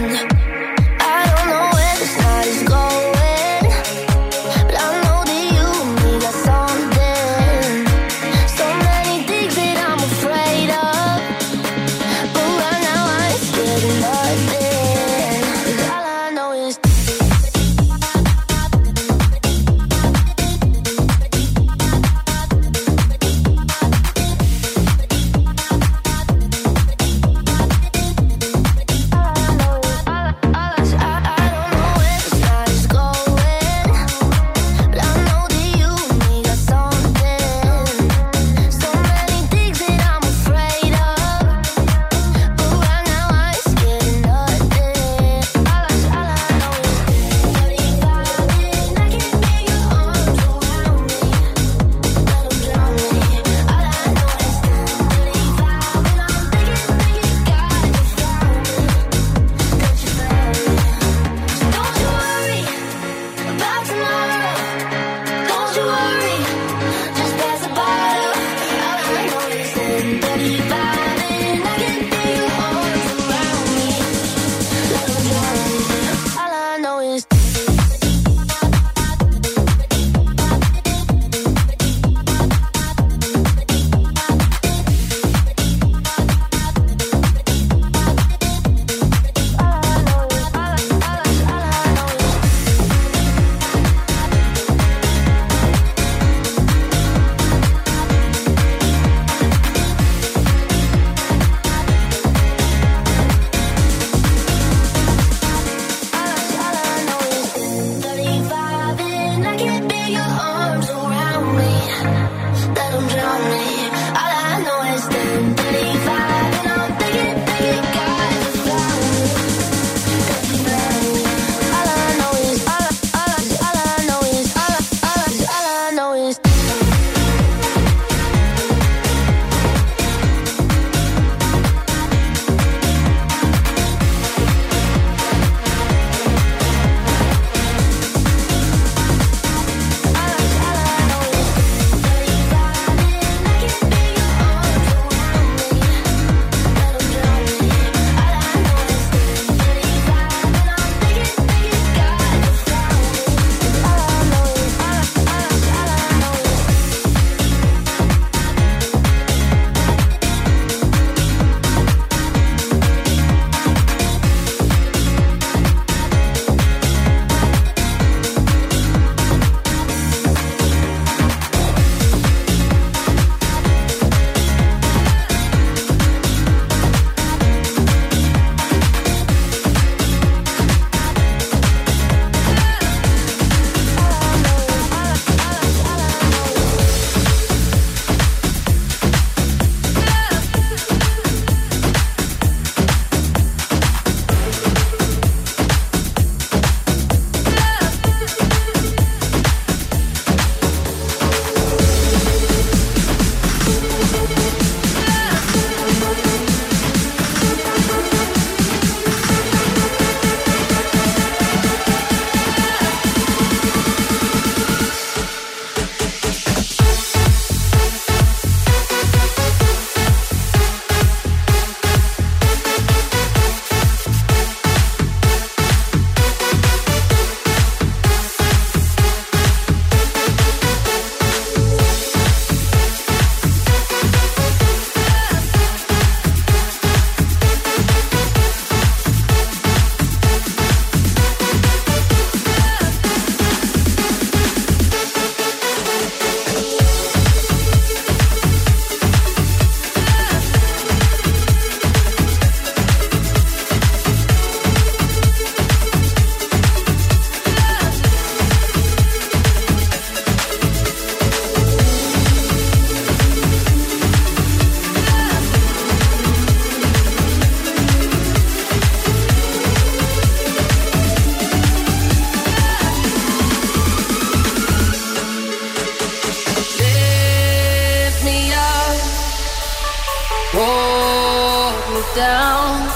down.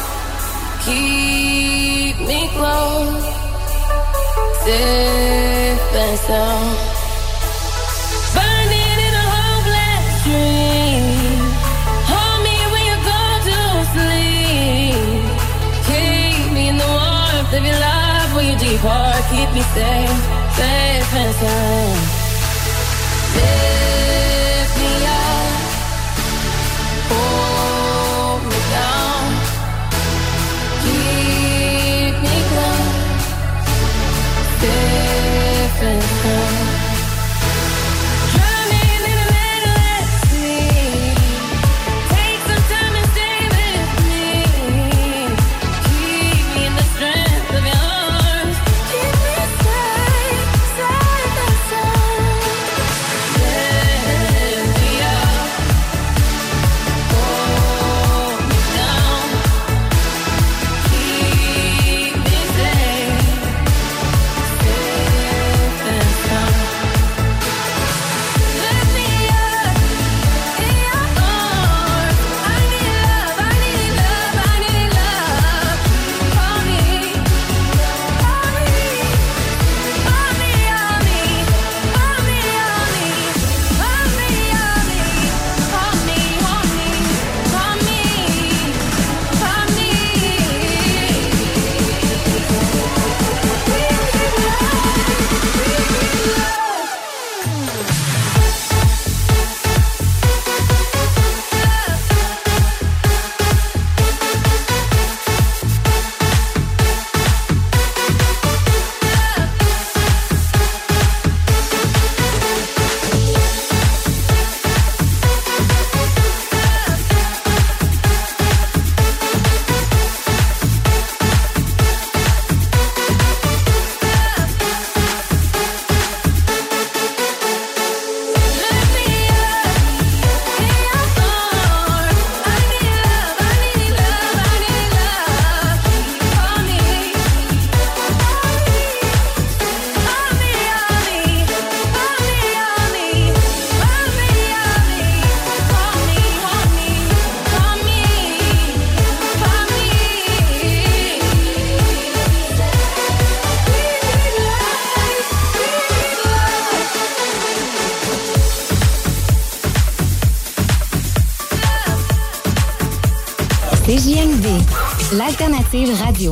Keep me close, safe and sound. Burning in a hopeless dream. Hold me when you go to sleep. Keep strength of your love, will you deep heart keep me safe, safe and sound. Lift me up, hold me down, keep me close, safe and sound. CJMD, l'alternative radio.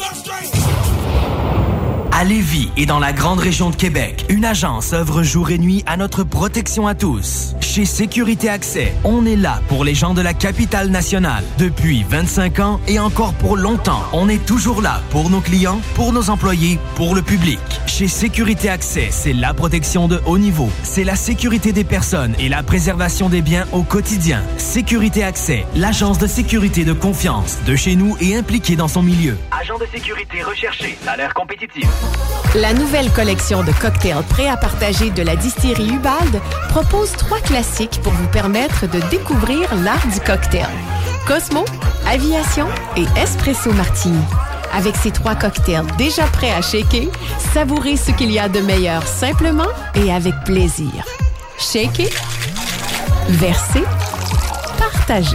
À Lévis et dans la grande région de Québec, une agence œuvre jour et nuit à notre protection à tous. Chez Sécurité Accès, on est là pour les gens de la capitale nationale. Depuis 25 ans et encore pour longtemps, on est toujours là pour nos clients, pour nos employés, pour le public. Chez Sécurité Accès, c'est la protection de haut niveau. C'est la sécurité des personnes et la préservation des biens au quotidien. Sécurité Accès, l'agence de sécurité de confiance de chez nous et impliquée dans son milieu. Agent de sécurité recherché, salaire compétitif. La nouvelle collection de cocktails prêts à partager de la distillerie Ubald propose 3 classiques pour vous permettre de découvrir l'art du cocktail. Cosmo, Aviation et Espresso Martini. Avec ces 3 cocktails déjà prêts à shaker, savourez ce qu'il y a de meilleur simplement et avec plaisir. Shaker, verser, partager.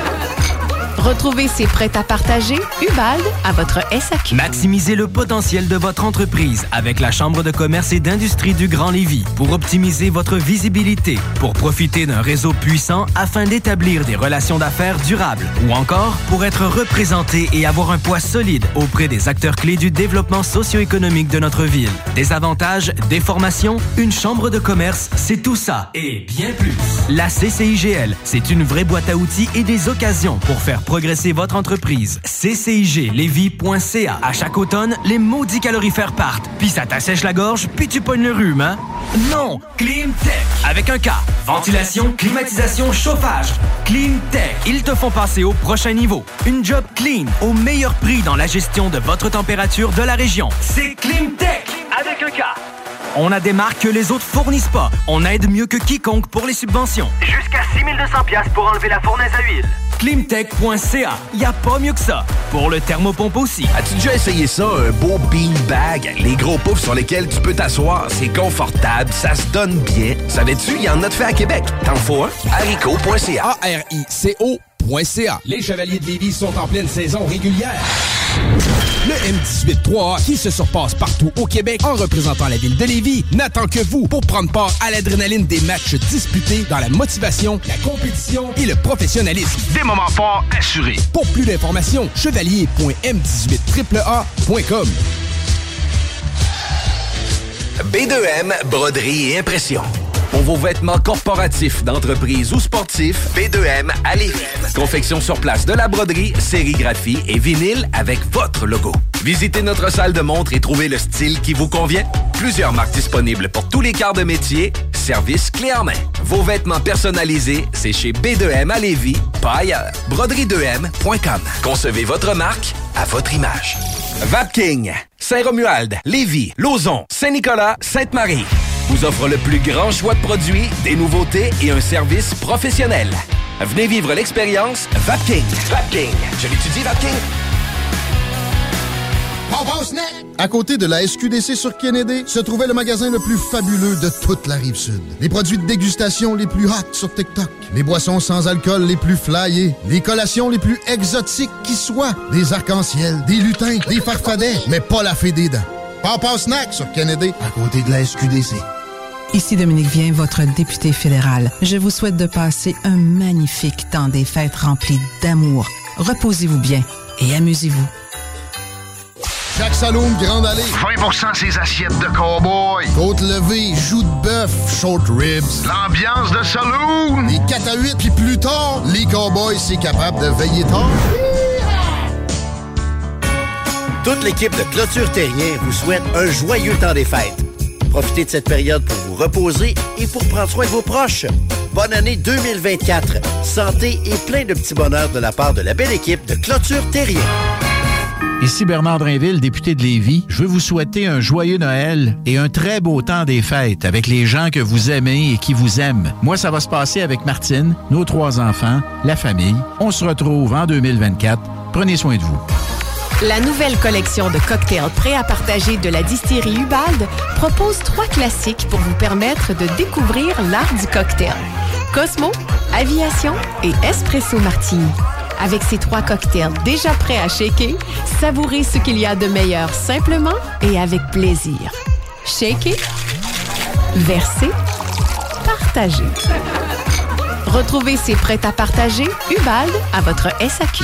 Retrouvez ces prêts à partager Ubald à votre SAQ. Maximisez le potentiel de votre entreprise avec la Chambre de commerce et d'industrie du Grand Lévis pour optimiser votre visibilité, pour profiter d'un réseau puissant afin d'établir des relations d'affaires durables ou encore pour être représenté et avoir un poids solide auprès des acteurs clés du développement socio-économique de notre ville. Des avantages, des formations, une chambre de commerce, c'est tout ça et bien plus. La CCIGL, c'est une vraie boîte à outils et des occasions pour faire progresser votre entreprise. CCIGLévis.ca. À chaque automne, les maudits calorifères partent. Puis ça t'assèche la gorge, puis tu pognes le rhume, hein? Non! Climtech! Avec un K. Ventilation, climatisation, chauffage. Climtech. Ils te font passer au prochain niveau. Une job clean, au meilleur prix dans la gestion de votre température de la région. C'est Climtech! Avec un K. On a des marques que les autres fournissent pas. On aide mieux que quiconque pour les subventions. Jusqu'à 6 200$ pour enlever la fournaise à huile. Climtech.ca. Y a pas mieux que ça. Pour le thermopompe aussi. As-tu déjà essayé ça, un beau beanbag? Les gros poufs sur lesquels tu peux t'asseoir, c'est confortable, ça se donne bien. Savais-tu, il y en a de fait à Québec. T'en faut un? Haricot.ca. ARICO.ca. Les Chevaliers de Lévis sont en pleine saison régulière. Le M18-3A, qui se surpasse partout au Québec en représentant la ville de Lévis, n'attend que vous pour prendre part à l'adrénaline des matchs disputés dans la motivation, la compétition et le professionnalisme. Des moments forts assurés. Pour plus d'informations, chevalier.m18AAA.com. B2M, broderie et impression. Pour vos vêtements corporatifs, d'entreprise ou sportifs, B2M à Lévis. Confection sur place de la broderie, sérigraphie et vinyle avec votre logo. Visitez notre salle de montre et trouvez le style qui vous convient. Plusieurs marques disponibles pour tous les quarts de métier. Service clé en main. Vos vêtements personnalisés, c'est chez B2M à Lévis, pas ailleurs. Broderie2M.com. Concevez votre marque à votre image. Vapking, Saint-Romuald, Lévis, Lauson, Saint-Nicolas, Sainte-Marie vous offre le plus grand choix de produits, des nouveautés et un service professionnel. Venez vivre l'expérience Vapking. Vapking. Je l'étudie, Vapking. À côté de la SQDC sur Kennedy, se trouvait le magasin le plus fabuleux de toute la Rive-Sud. Les produits de dégustation les plus hot sur TikTok. Les boissons sans alcool les plus flyées. Les collations les plus exotiques qui soient. Des arcs-en-ciel, des lutins, des farfadets, mais pas la fée des dents. Papa Snack sur Kennedy, à côté de la SQDC. Ici Dominique Vien, votre député fédéral. Je vous souhaite de passer un magnifique temps des fêtes rempli d'amour. Reposez-vous bien et amusez-vous. Chaque Saloon Grande Allée. 20% ses assiettes de cow-boy. Côte levée, joues de bœuf, short ribs. L'ambiance de saloon. Les 4 à 8, puis plus tard, les cowboys, c'est capable de veiller tard. Toute l'équipe de Clôture Terrien vous souhaite un joyeux temps des fêtes. Profitez de cette période pour vous reposer et pour prendre soin de vos proches. Bonne année 2024. Santé et plein de petits bonheurs de la part de la belle équipe de Clôture Terrien. Ici Bernard Drainville, député de Lévis. Je veux vous souhaiter un joyeux Noël et un très beau temps des fêtes avec les gens que vous aimez et qui vous aiment. Moi, ça va se passer avec Martine, nos 3 enfants, la famille. On se retrouve en 2024. Prenez soin de vous. La nouvelle collection de cocktails prêts à partager de la distillerie Ubald propose 3 classiques pour vous permettre de découvrir l'art du cocktail. Cosmo, Aviation et Espresso Martini. Avec ces 3 cocktails déjà prêts à shaker, savourez ce qu'il y a de meilleur simplement et avec plaisir. Shaker, verser, partager. Retrouvez ces prêts à partager Ubald à votre SAQ.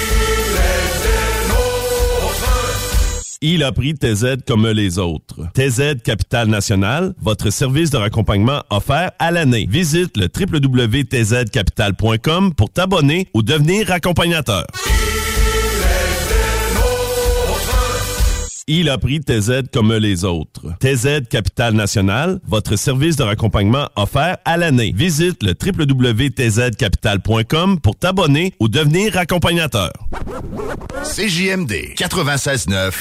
Il a pris TZ comme les autres. TZ Capital National, votre service de raccompagnement offert à l'année. Visite le www.tzcapital.com pour t'abonner ou devenir accompagnateur. Il a pris TZ comme les autres. TZ Capital National, votre service de raccompagnement offert à l'année. Visite le www.tzcapital.com pour t'abonner ou devenir accompagnateur. CJMD 96.9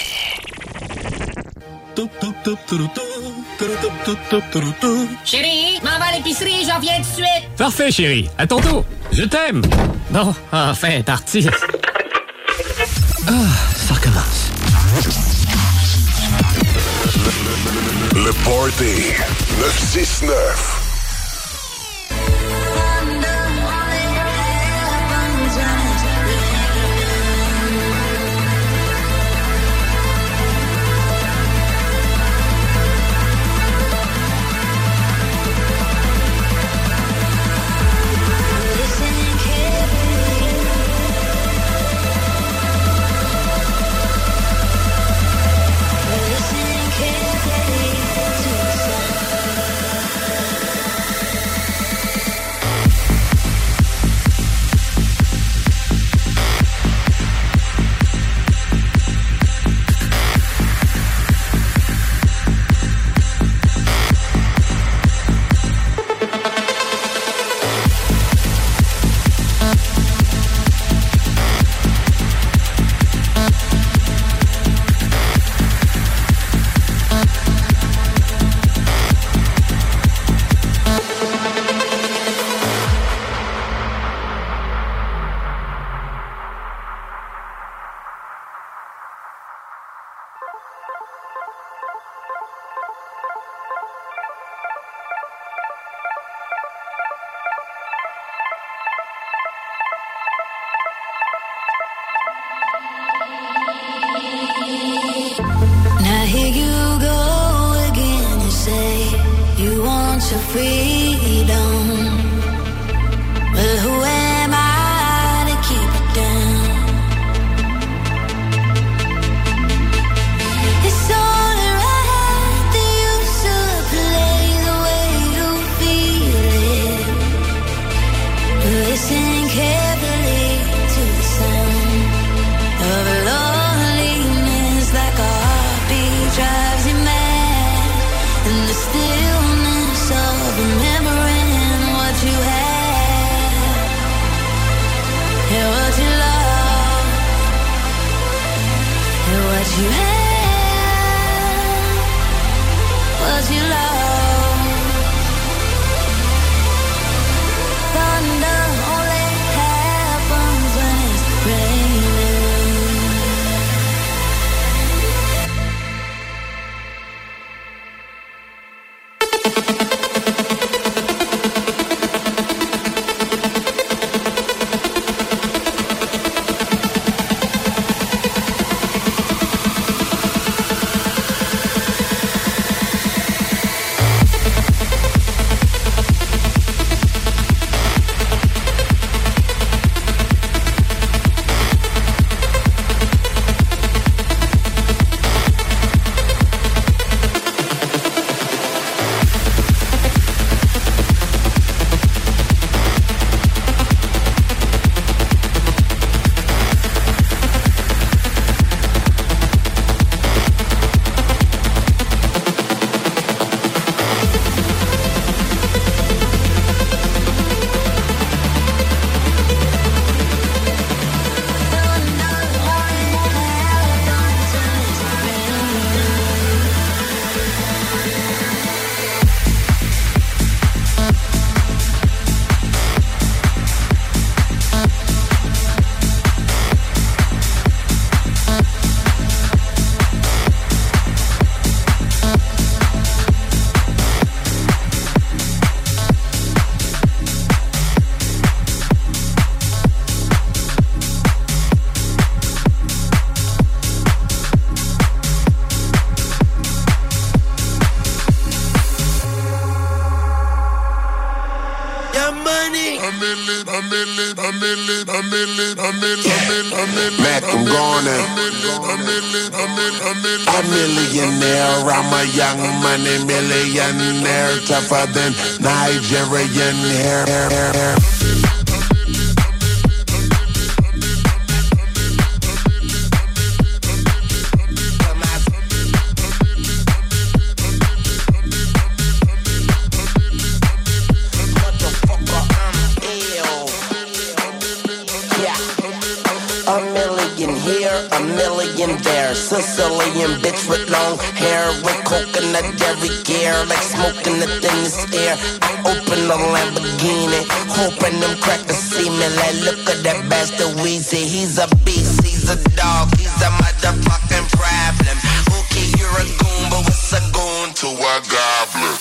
Chérie, m'en va à l'épicerie, j'en viens tout de suite. Parfait, chérie. À ton tour. Je t'aime. Bon, enfin, parti. Ça recommence. Le Party 969. freedom. But who am I to keep it down? It's only right that you should play the way you feel it. Listen carefully to the sound of loneliness, like a heartbeat drives you mad, and the stillness of remembering what you had, and what you love, and what you had, what you love. Thunder only happens when it's raining. Mac, I'm gone. A millionaire, I'm a young money millionaire, tougher than Nigerian hair. Sicilian bitch with long hair, with coconut every gear, like smoking the thinnest air. I open a Lamborghini, hoping them crackers see me. Like, look at that bastard Weezy. He's a beast, he's a dog, he's a motherfucking problem. Okay, you're a goon, but what's a goon to a goblin?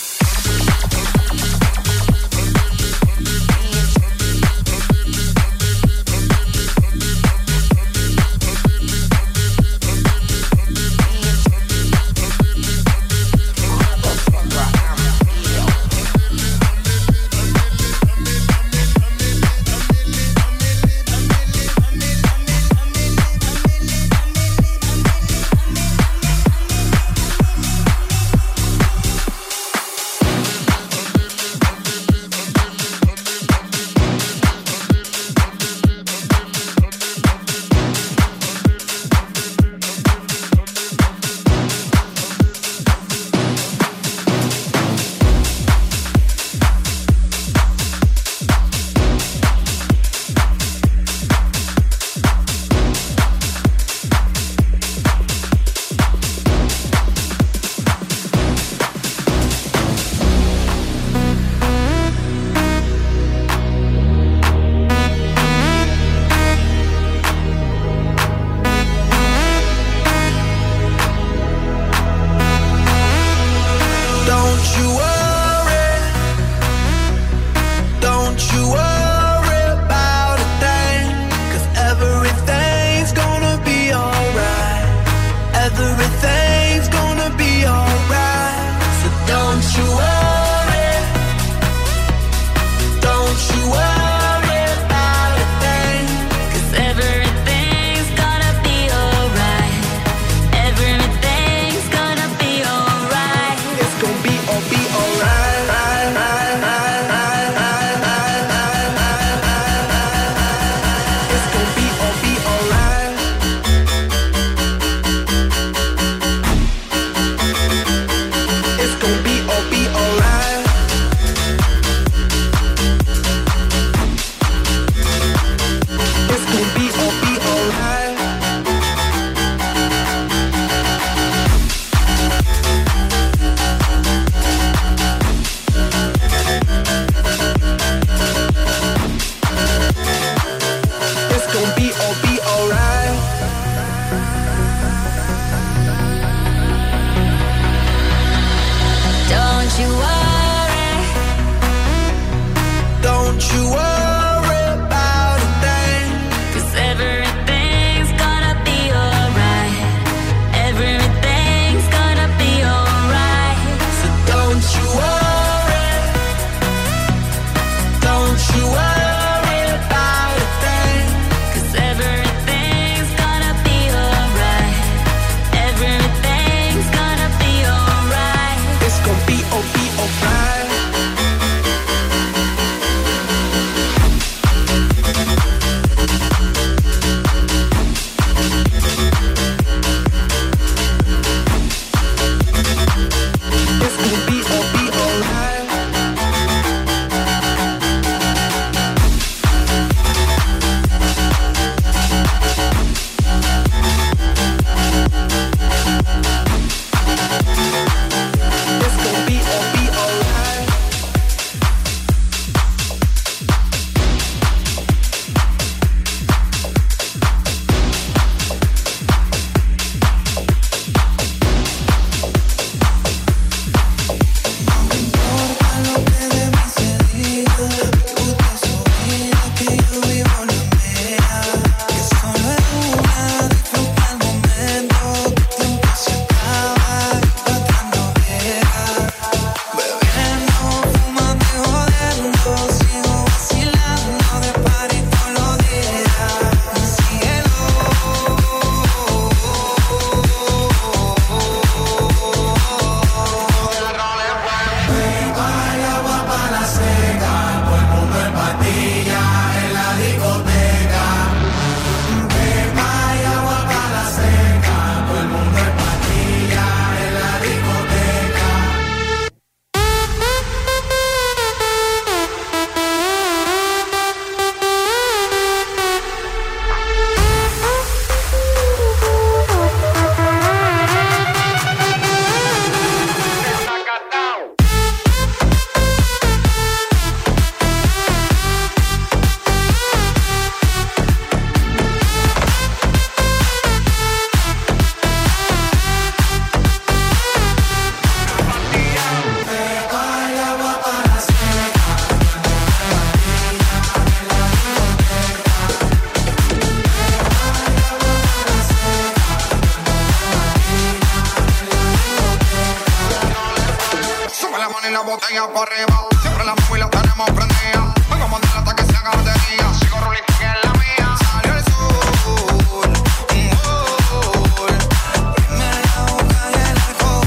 botella por arriba. Siempre la movie la tenemos prendida. Vengo a montar hasta que se haga batería. Sigo rolling que es la mía. Salió el sol. Prime la boca y el alcohol.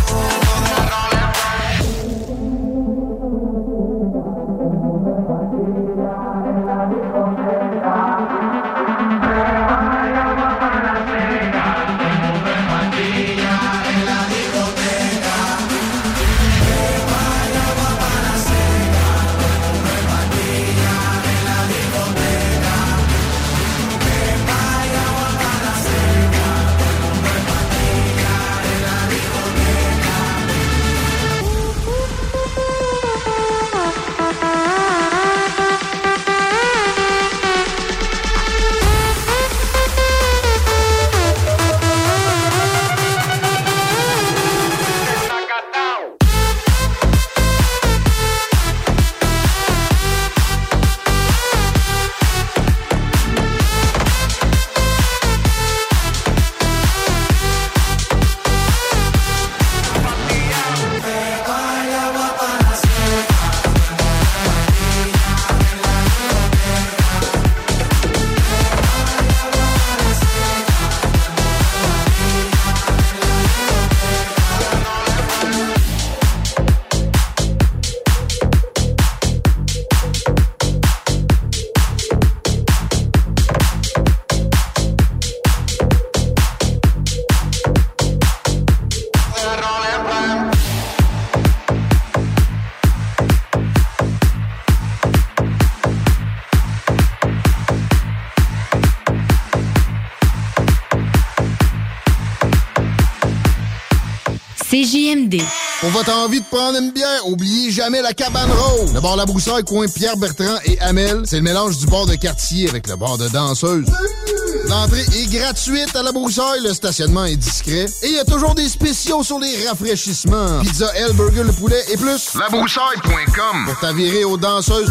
CJMD. Pour votre envie de prendre une bière, oubliez jamais la Cabane Rose. Le bar La Broussaille, coin Pierre-Bertrand et Hamel, c'est le mélange du bar de quartier avec le bar de danseuse. L'entrée est gratuite à La Broussaille, le stationnement est discret. Et il y a toujours des spéciaux sur les rafraîchissements. Pizza, L, burger, le poulet et plus. Labroussaille.com pour t'avirer aux danseuses.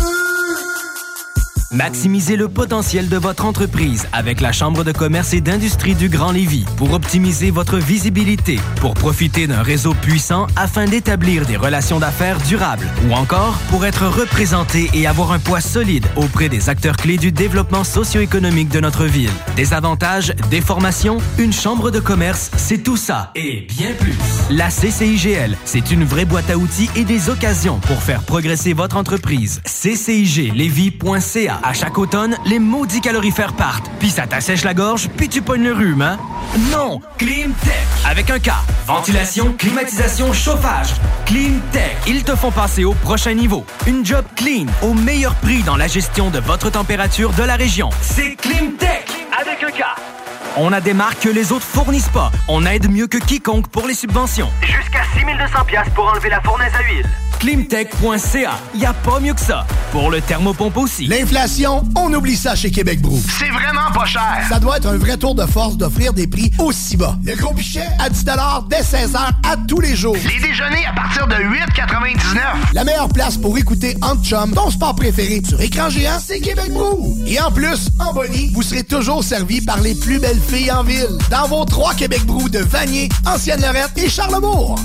Maximisez le potentiel de votre entreprise avec la Chambre de commerce et d'industrie du Grand Lévis pour optimiser votre visibilité, pour profiter d'un réseau puissant afin d'établir des relations d'affaires durables ou encore pour être représenté et avoir un poids solide auprès des acteurs clés du développement socio-économique de notre ville. Des avantages, des formations, une chambre de commerce, c'est tout ça et bien plus. La CCIGL, c'est une vraie boîte à outils et des occasions pour faire progresser votre entreprise. CCIGLévis.ca. À chaque automne, les maudits calorifères partent. Puis ça t'assèche la gorge, puis tu pognes le rhume, hein? Non! Climtech! Avec un K. Ventilation, climatisation, chauffage. Climtech. Ils te font passer au prochain niveau. Une job clean, au meilleur prix dans la gestion de votre température de la région. C'est Climtech! Avec un K. On a des marques que les autres fournissent pas. On aide mieux que quiconque pour les subventions. Jusqu'à 6 200$ pour enlever la fournaise à huile. Climtech.ca. Y a pas mieux que ça. Pour le thermopompe aussi. L'inflation, on oublie ça chez Québec Brou. C'est vraiment pas cher. Ça doit être un vrai tour de force d'offrir des prix aussi bas. Le gros pichet à 10$ dès 16h à tous les jours. Les déjeuners à partir de 8,99. La meilleure place pour écouter Entre Chum, ton sport préféré sur écran géant, c'est Québec Brou. Et en plus, en bonnie, vous serez toujours servi par les plus belles filles en ville. Dans vos 3 Québec Brou de Vanier, Ancienne-Lorette et Charlebourg.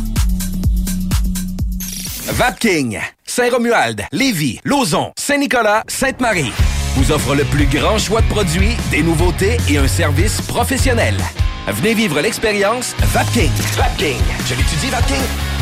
Vapking, Saint-Romuald, Lévis, Lauson, Saint-Nicolas, Sainte-Marie vous offre le plus grand choix de produits, des nouveautés et un service professionnel. Venez vivre l'expérience Vapking. Vapking, je l'étudie Vapking.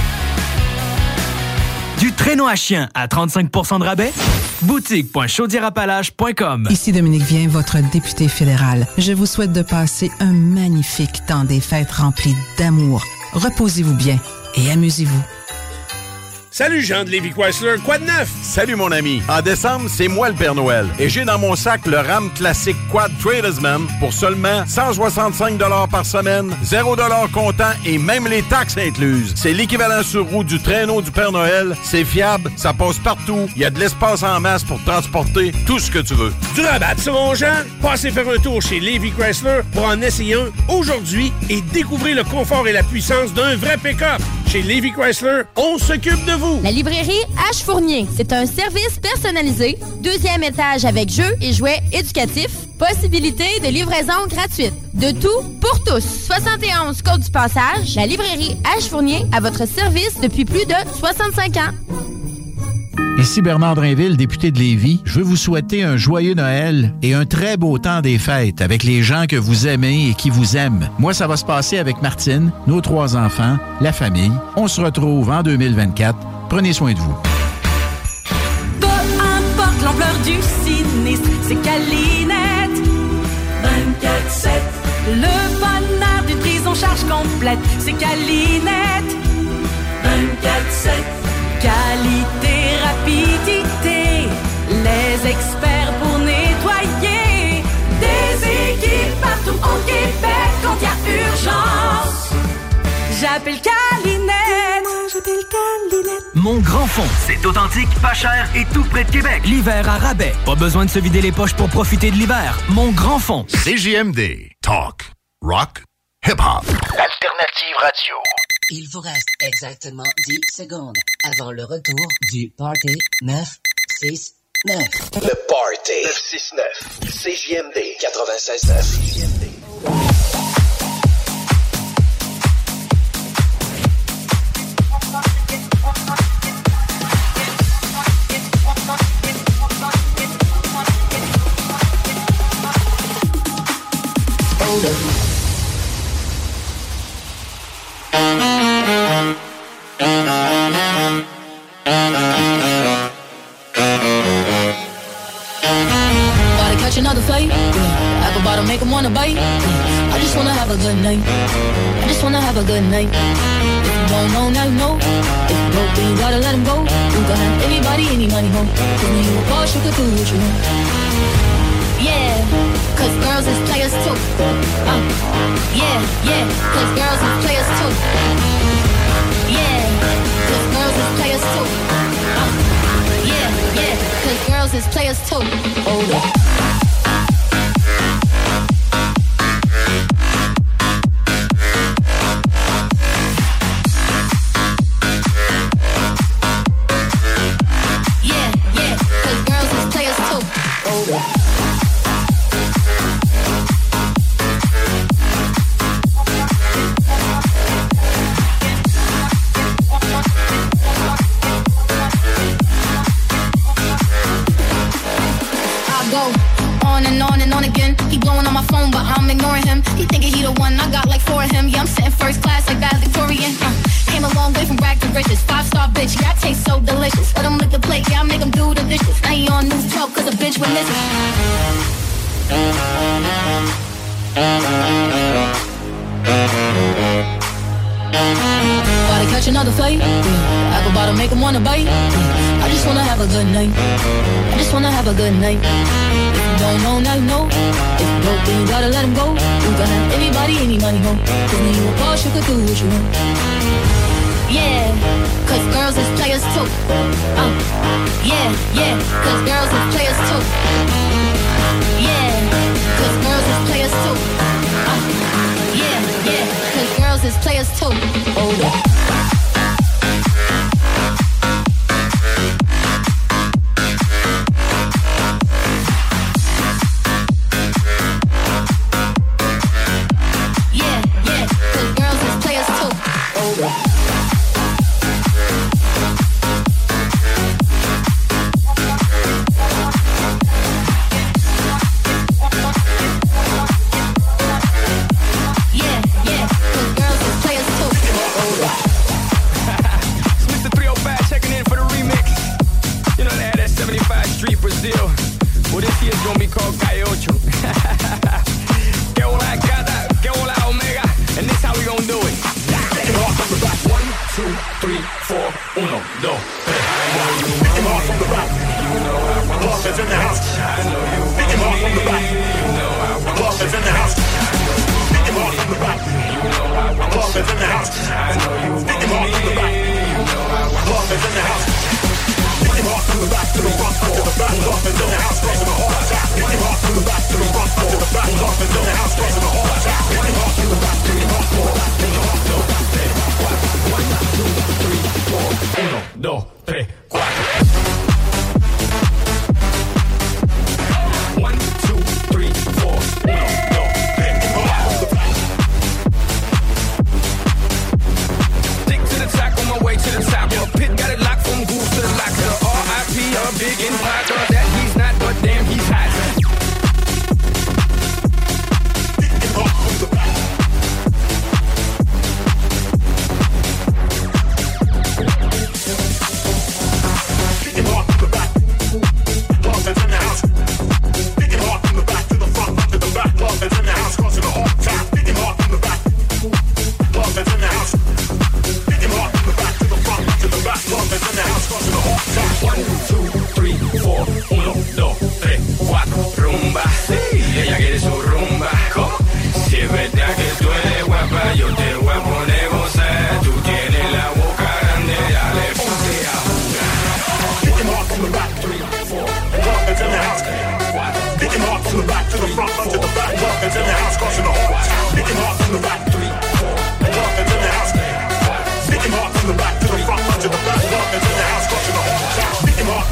Du traîneau à chien à 35% de rabais? Boutique.chaudierapalache.com. Ici Dominique Vien, votre député fédéral. Je vous souhaite de passer un magnifique temps des fêtes rempli d'amour. Reposez-vous bien et amusez-vous. Salut Jean de Lévis Chrysler, quoi de neuf? Salut mon ami. En décembre, c'est moi le Père Noël. Et j'ai dans mon sac le Ram Classic Quad Tradesman pour seulement 165$ par semaine, 0$ comptant et même les taxes incluses. C'est l'équivalent sur roue du traîneau du Père Noël. C'est fiable, ça passe partout. Il y a de l'espace en masse pour transporter tout ce que tu veux. Du rabat sur mon Jean? Passez faire un tour chez Lévis Chrysler pour en essayer un aujourd'hui et découvrir le confort et la puissance d'un vrai pick-up. Chez Lévis Chrysler, on s'occupe de vous. La librairie H. Fournier, c'est un service personnalisé, 2e étage avec jeux et jouets éducatifs, possibilité de livraison gratuite. De tout pour tous. 71 Côte du Passage, la librairie H. Fournier à votre service depuis plus de 65 ans. Ici Bernard Drainville, député de Lévis. Je veux vous souhaiter un joyeux Noël et un très beau temps des fêtes avec les gens que vous aimez et qui vous aiment. Moi, ça va se passer avec Martine, nos 3 enfants, la famille. On se retrouve en 2024. Prenez soin de vous. Peu importe l'ampleur du sinistre, c'est Calinette. 24/7. Le bonheur d'une prise en charge complète, c'est Calinette. 24/7. Qualité, rapidité, les experts pour nettoyer. Des équipes partout au Québec quand il y a urgence. J'appelle Calinette. Moi, j'appelle Calinette. Mon Grand Fond. C'est authentique, pas cher et tout près de Québec. L'hiver à rabais. Pas besoin de se vider les poches pour profiter de l'hiver. Mon Grand Fond. CJMD. Talk. Rock. Hip-hop. Alternative radio. Il vous reste exactement 10 secondes avant le retour du Party 969. Le Party 969. CJMD 96.9. Gotta catch another fight. Apple bottom make 'em wanna bite. I just wanna have a good night. I just wanna have a good night. If you don't know, now you know. If you broke, then you gotta let him go. You can have anybody, any money, ho. Cause when you a boss, you can do what you want. Yeah, cause girls is players too. Yeah, cause girls is players too. Yeah, cause girls is players too. Yeah, cause girls is players too. Hold up. Yeah, cause girls is players too. Hold up. On again, he blowing on my phone, but I'm ignoring him. He thinking he the one, I got like 4 of him. Yeah, I'm sitting first class like that Victorian. Came a long way from rag to riches. 5-star bitch, yeah, I taste so delicious. Let him lick the plate, yeah, I make him do the dishes. Now he on news 12 cause a bitch went missing. Gotta catch another fight. Apple bottom make him wanna bite. I just wanna have a good night. I just wanna have a good night. If you don't know, now you know. If you broke, then you gotta let him go. You can have anybody, any money, ho. Cause when you a boss, you can do what you want. Yeah, cause girls is players too. Yeah, cause girls is players too. Yeah, cause girls is players too. Yeah, cause girls is players too. Hold up. 2, 3, 4, 1, 2, 3, 4, rumba. Ella quiere su rumba. ¿Cómo? Si es verdad que tú eres guapa, yo te voy a poner gozar. Tú tienes la boca grande, dale, ponte a jugar. Hit him off from the back, 3, 4, welcome to the house. Hit him off from the back to the front, front to the back, welcome to the house, crossing the heart. Hit him off from the back, 3, 4, welcome to the house. Hit him off from the back to the front, front to the back, welcome to the house, crossing the heart. Hit him off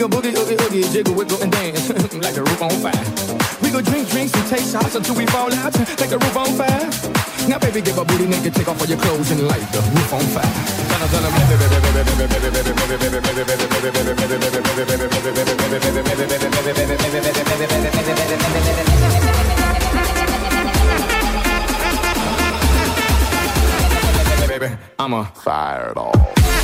go boogie, oogie, oogie, jiggle, wiggle, and dance like the roof on fire. We go drink drinks and take shots until we fall out like the roof on fire. Now, baby, give a booty naked, take off all your clothes and light the roof on fire. Baby, I'm a fire it all.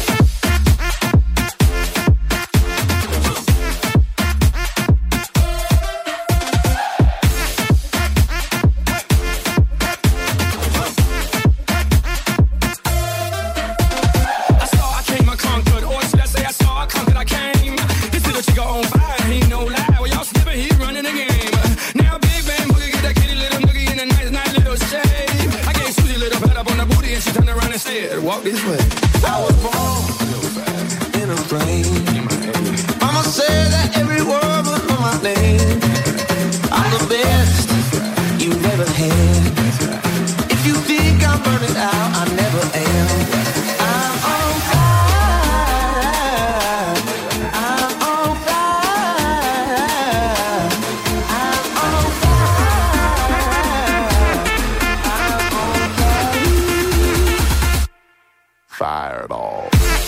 Walk this way. I was born in a frame. Mama said that every word was on my name. I'm the best you've ever had. If you think I'm burning out, I never am. I'm on fire. I'm on fire. I'm on fire. Fire it all.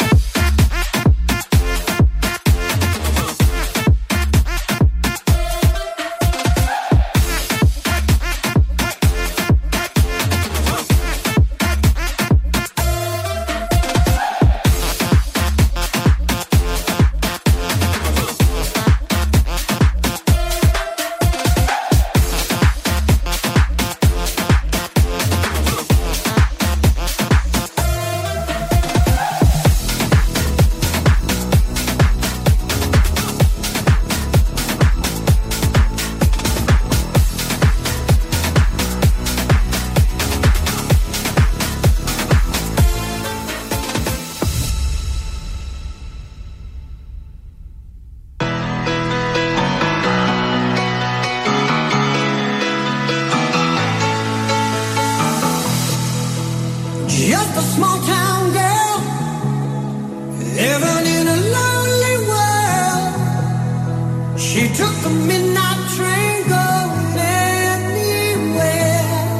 Just a small town girl living in a lonely world. She took the midnight train going anywhere.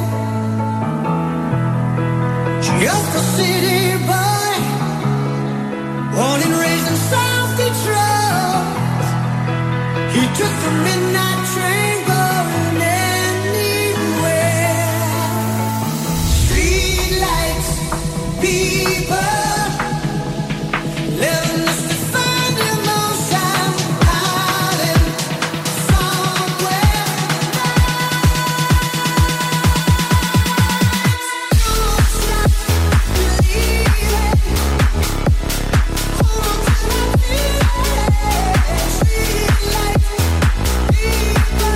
Just a city boy, born and raised in South Detroit. He took the midnight train going anywhere. Street lights, people living just to find emotion, hiding somewhere. Don't stop believing. Hold on to my feelings. Street lights, people.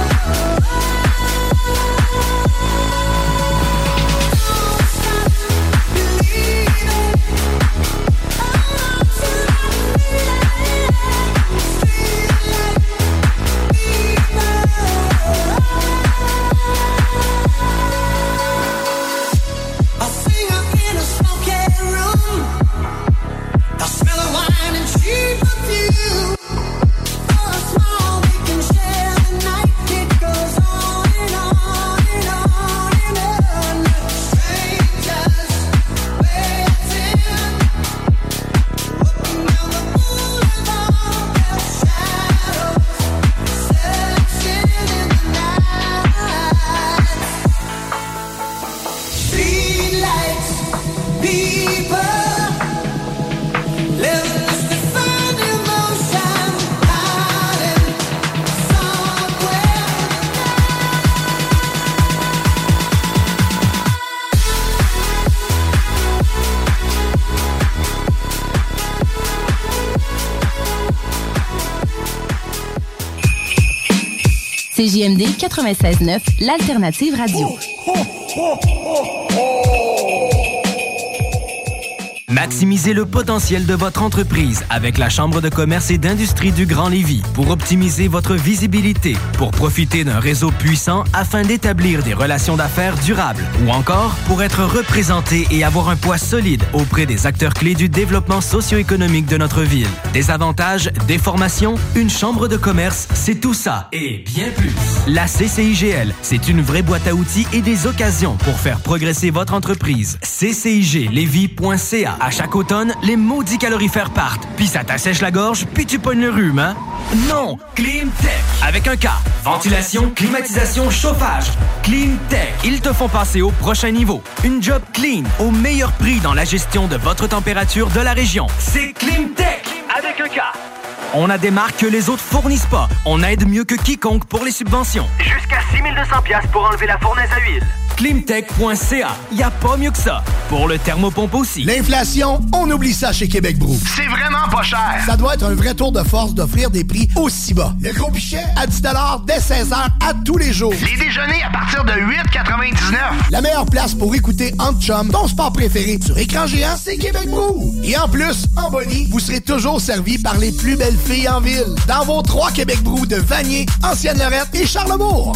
I sing up in a smoky room. I smell of wine and cheap perfume. For a smile we can share the night. It goes on and on and on and on. Strangers waiting, walking down the boulevard. Their shadows searching in the night. Street lights, people living just to find emotion, hiding somewhere. CJMD 96.9, l'alternative radio. Maximisez le potentiel de votre entreprise avec la Chambre de commerce et d'industrie du Grand Lévis pour optimiser votre visibilité, pour profiter d'un réseau puissant afin d'établir des relations d'affaires durables ou encore pour être représenté et avoir un poids solide auprès des acteurs clés du développement socio-économique de notre ville. Des avantages, des formations, une chambre de commerce, c'est tout ça et bien plus. La CCIGL, c'est une vraie boîte à outils et des occasions pour faire progresser votre entreprise. CCIGLévis.ca. À chaque automne, les maudits calorifères partent. Puis ça t'assèche la gorge, puis tu pognes le rhume, hein? Non! Climtech! Avec un K. Ventilation, climatisation, chauffage. Climtech. Ils te font passer au prochain niveau. Une job clean, au meilleur prix dans la gestion de votre température de la région. C'est Climtech! Avec un K. On a des marques que les autres fournissent pas. On aide mieux que quiconque pour les subventions. Jusqu'à 6 200$ pour enlever la fournaise à huile. Climtech.ca. Y a pas mieux que ça. Pour le thermopompe aussi. L'inflation, on oublie ça chez Québec Brou. C'est vraiment pas cher. Ça doit être un vrai tour de force d'offrir des prix aussi bas. Le gros pichet à 10$ dès 16h à tous les jours. Les déjeuners à partir de 8,99. La meilleure place pour écouter Entre Chum, ton sport préféré sur écran géant, c'est Québec Brou. Et en plus, en Bonnie, vous serez toujours servi par les plus belles filles en ville. Dans vos 3 Québec Brou de Vanier, Ancienne-Lorette et Charlebourg.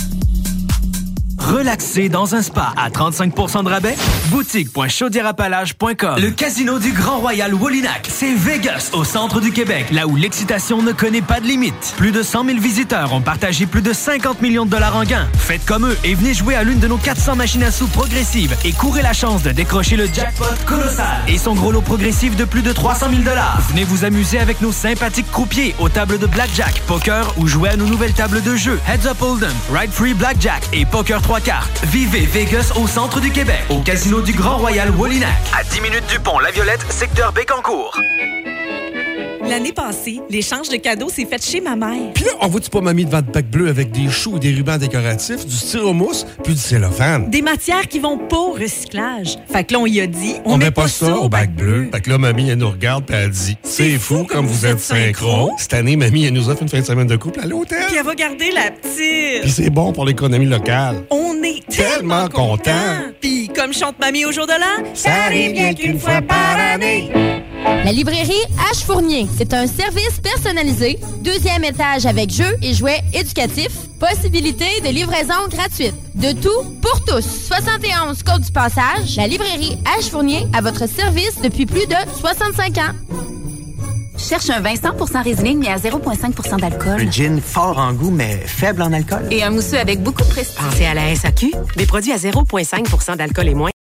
Relaxer dans un spa à 35% de rabais? Boutique.chaudièrapalache.com. Le casino du Grand Royal Wolinak, c'est Vegas, au centre du Québec, là où l'excitation ne connaît pas de limite. Plus de 100 000 visiteurs ont partagé plus de 50 millions de dollars en gains. Faites comme eux et venez jouer à l'une de nos 400 machines à sous progressives et courez la chance de décrocher le jackpot colossal et son gros lot progressif de plus de 300 000 dollars. Venez vous amuser avec nos sympathiques croupiers aux tables de blackjack, poker ou jouer à nos nouvelles tables de jeu Heads Up Hold'em, Ride Free Blackjack et Poker 3 cartes. Vivez Vegas au centre du Québec, au casino du Grand Royal Wolinak. À 10 minutes du pont La Violette, secteur Bécancour. L'année passée, l'échange de cadeaux s'est fait chez ma mère. Puis là, on voit-tu pas mamie devant le bac bleu avec des choux et des rubans décoratifs, du styromousse puis du cellophane? Des matières qui vont pas au recyclage. Fait que là, on y a dit, on met pas ça au bac bleu. Fait que là, mamie, elle nous regarde puis elle dit, c'est fou comme vous êtes synchro. Cette année, mamie, elle nous offre une fin de semaine de couple à l'hôtel. Puis elle va garder la petite. Puis c'est bon pour l'économie locale. On est tellement contents. Puis comme chante mamie au jour de l'an, ça arrive bien qu'une fois par année. La librairie H. Fournier, c'est un service personnalisé, 2e étage avec jeux et jouets éducatifs, possibilité de livraison gratuite. De tout pour tous. 71 Côte du Passage, la librairie H. Fournier à votre service depuis plus de 65 ans. Cherche un vin 100% Riesling mais à 0,5% d'alcool. Un gin fort en goût mais faible en alcool. Et un mousseux avec beaucoup de prestige. Pensez à la SAQ. Des produits à 0,5% d'alcool et moins.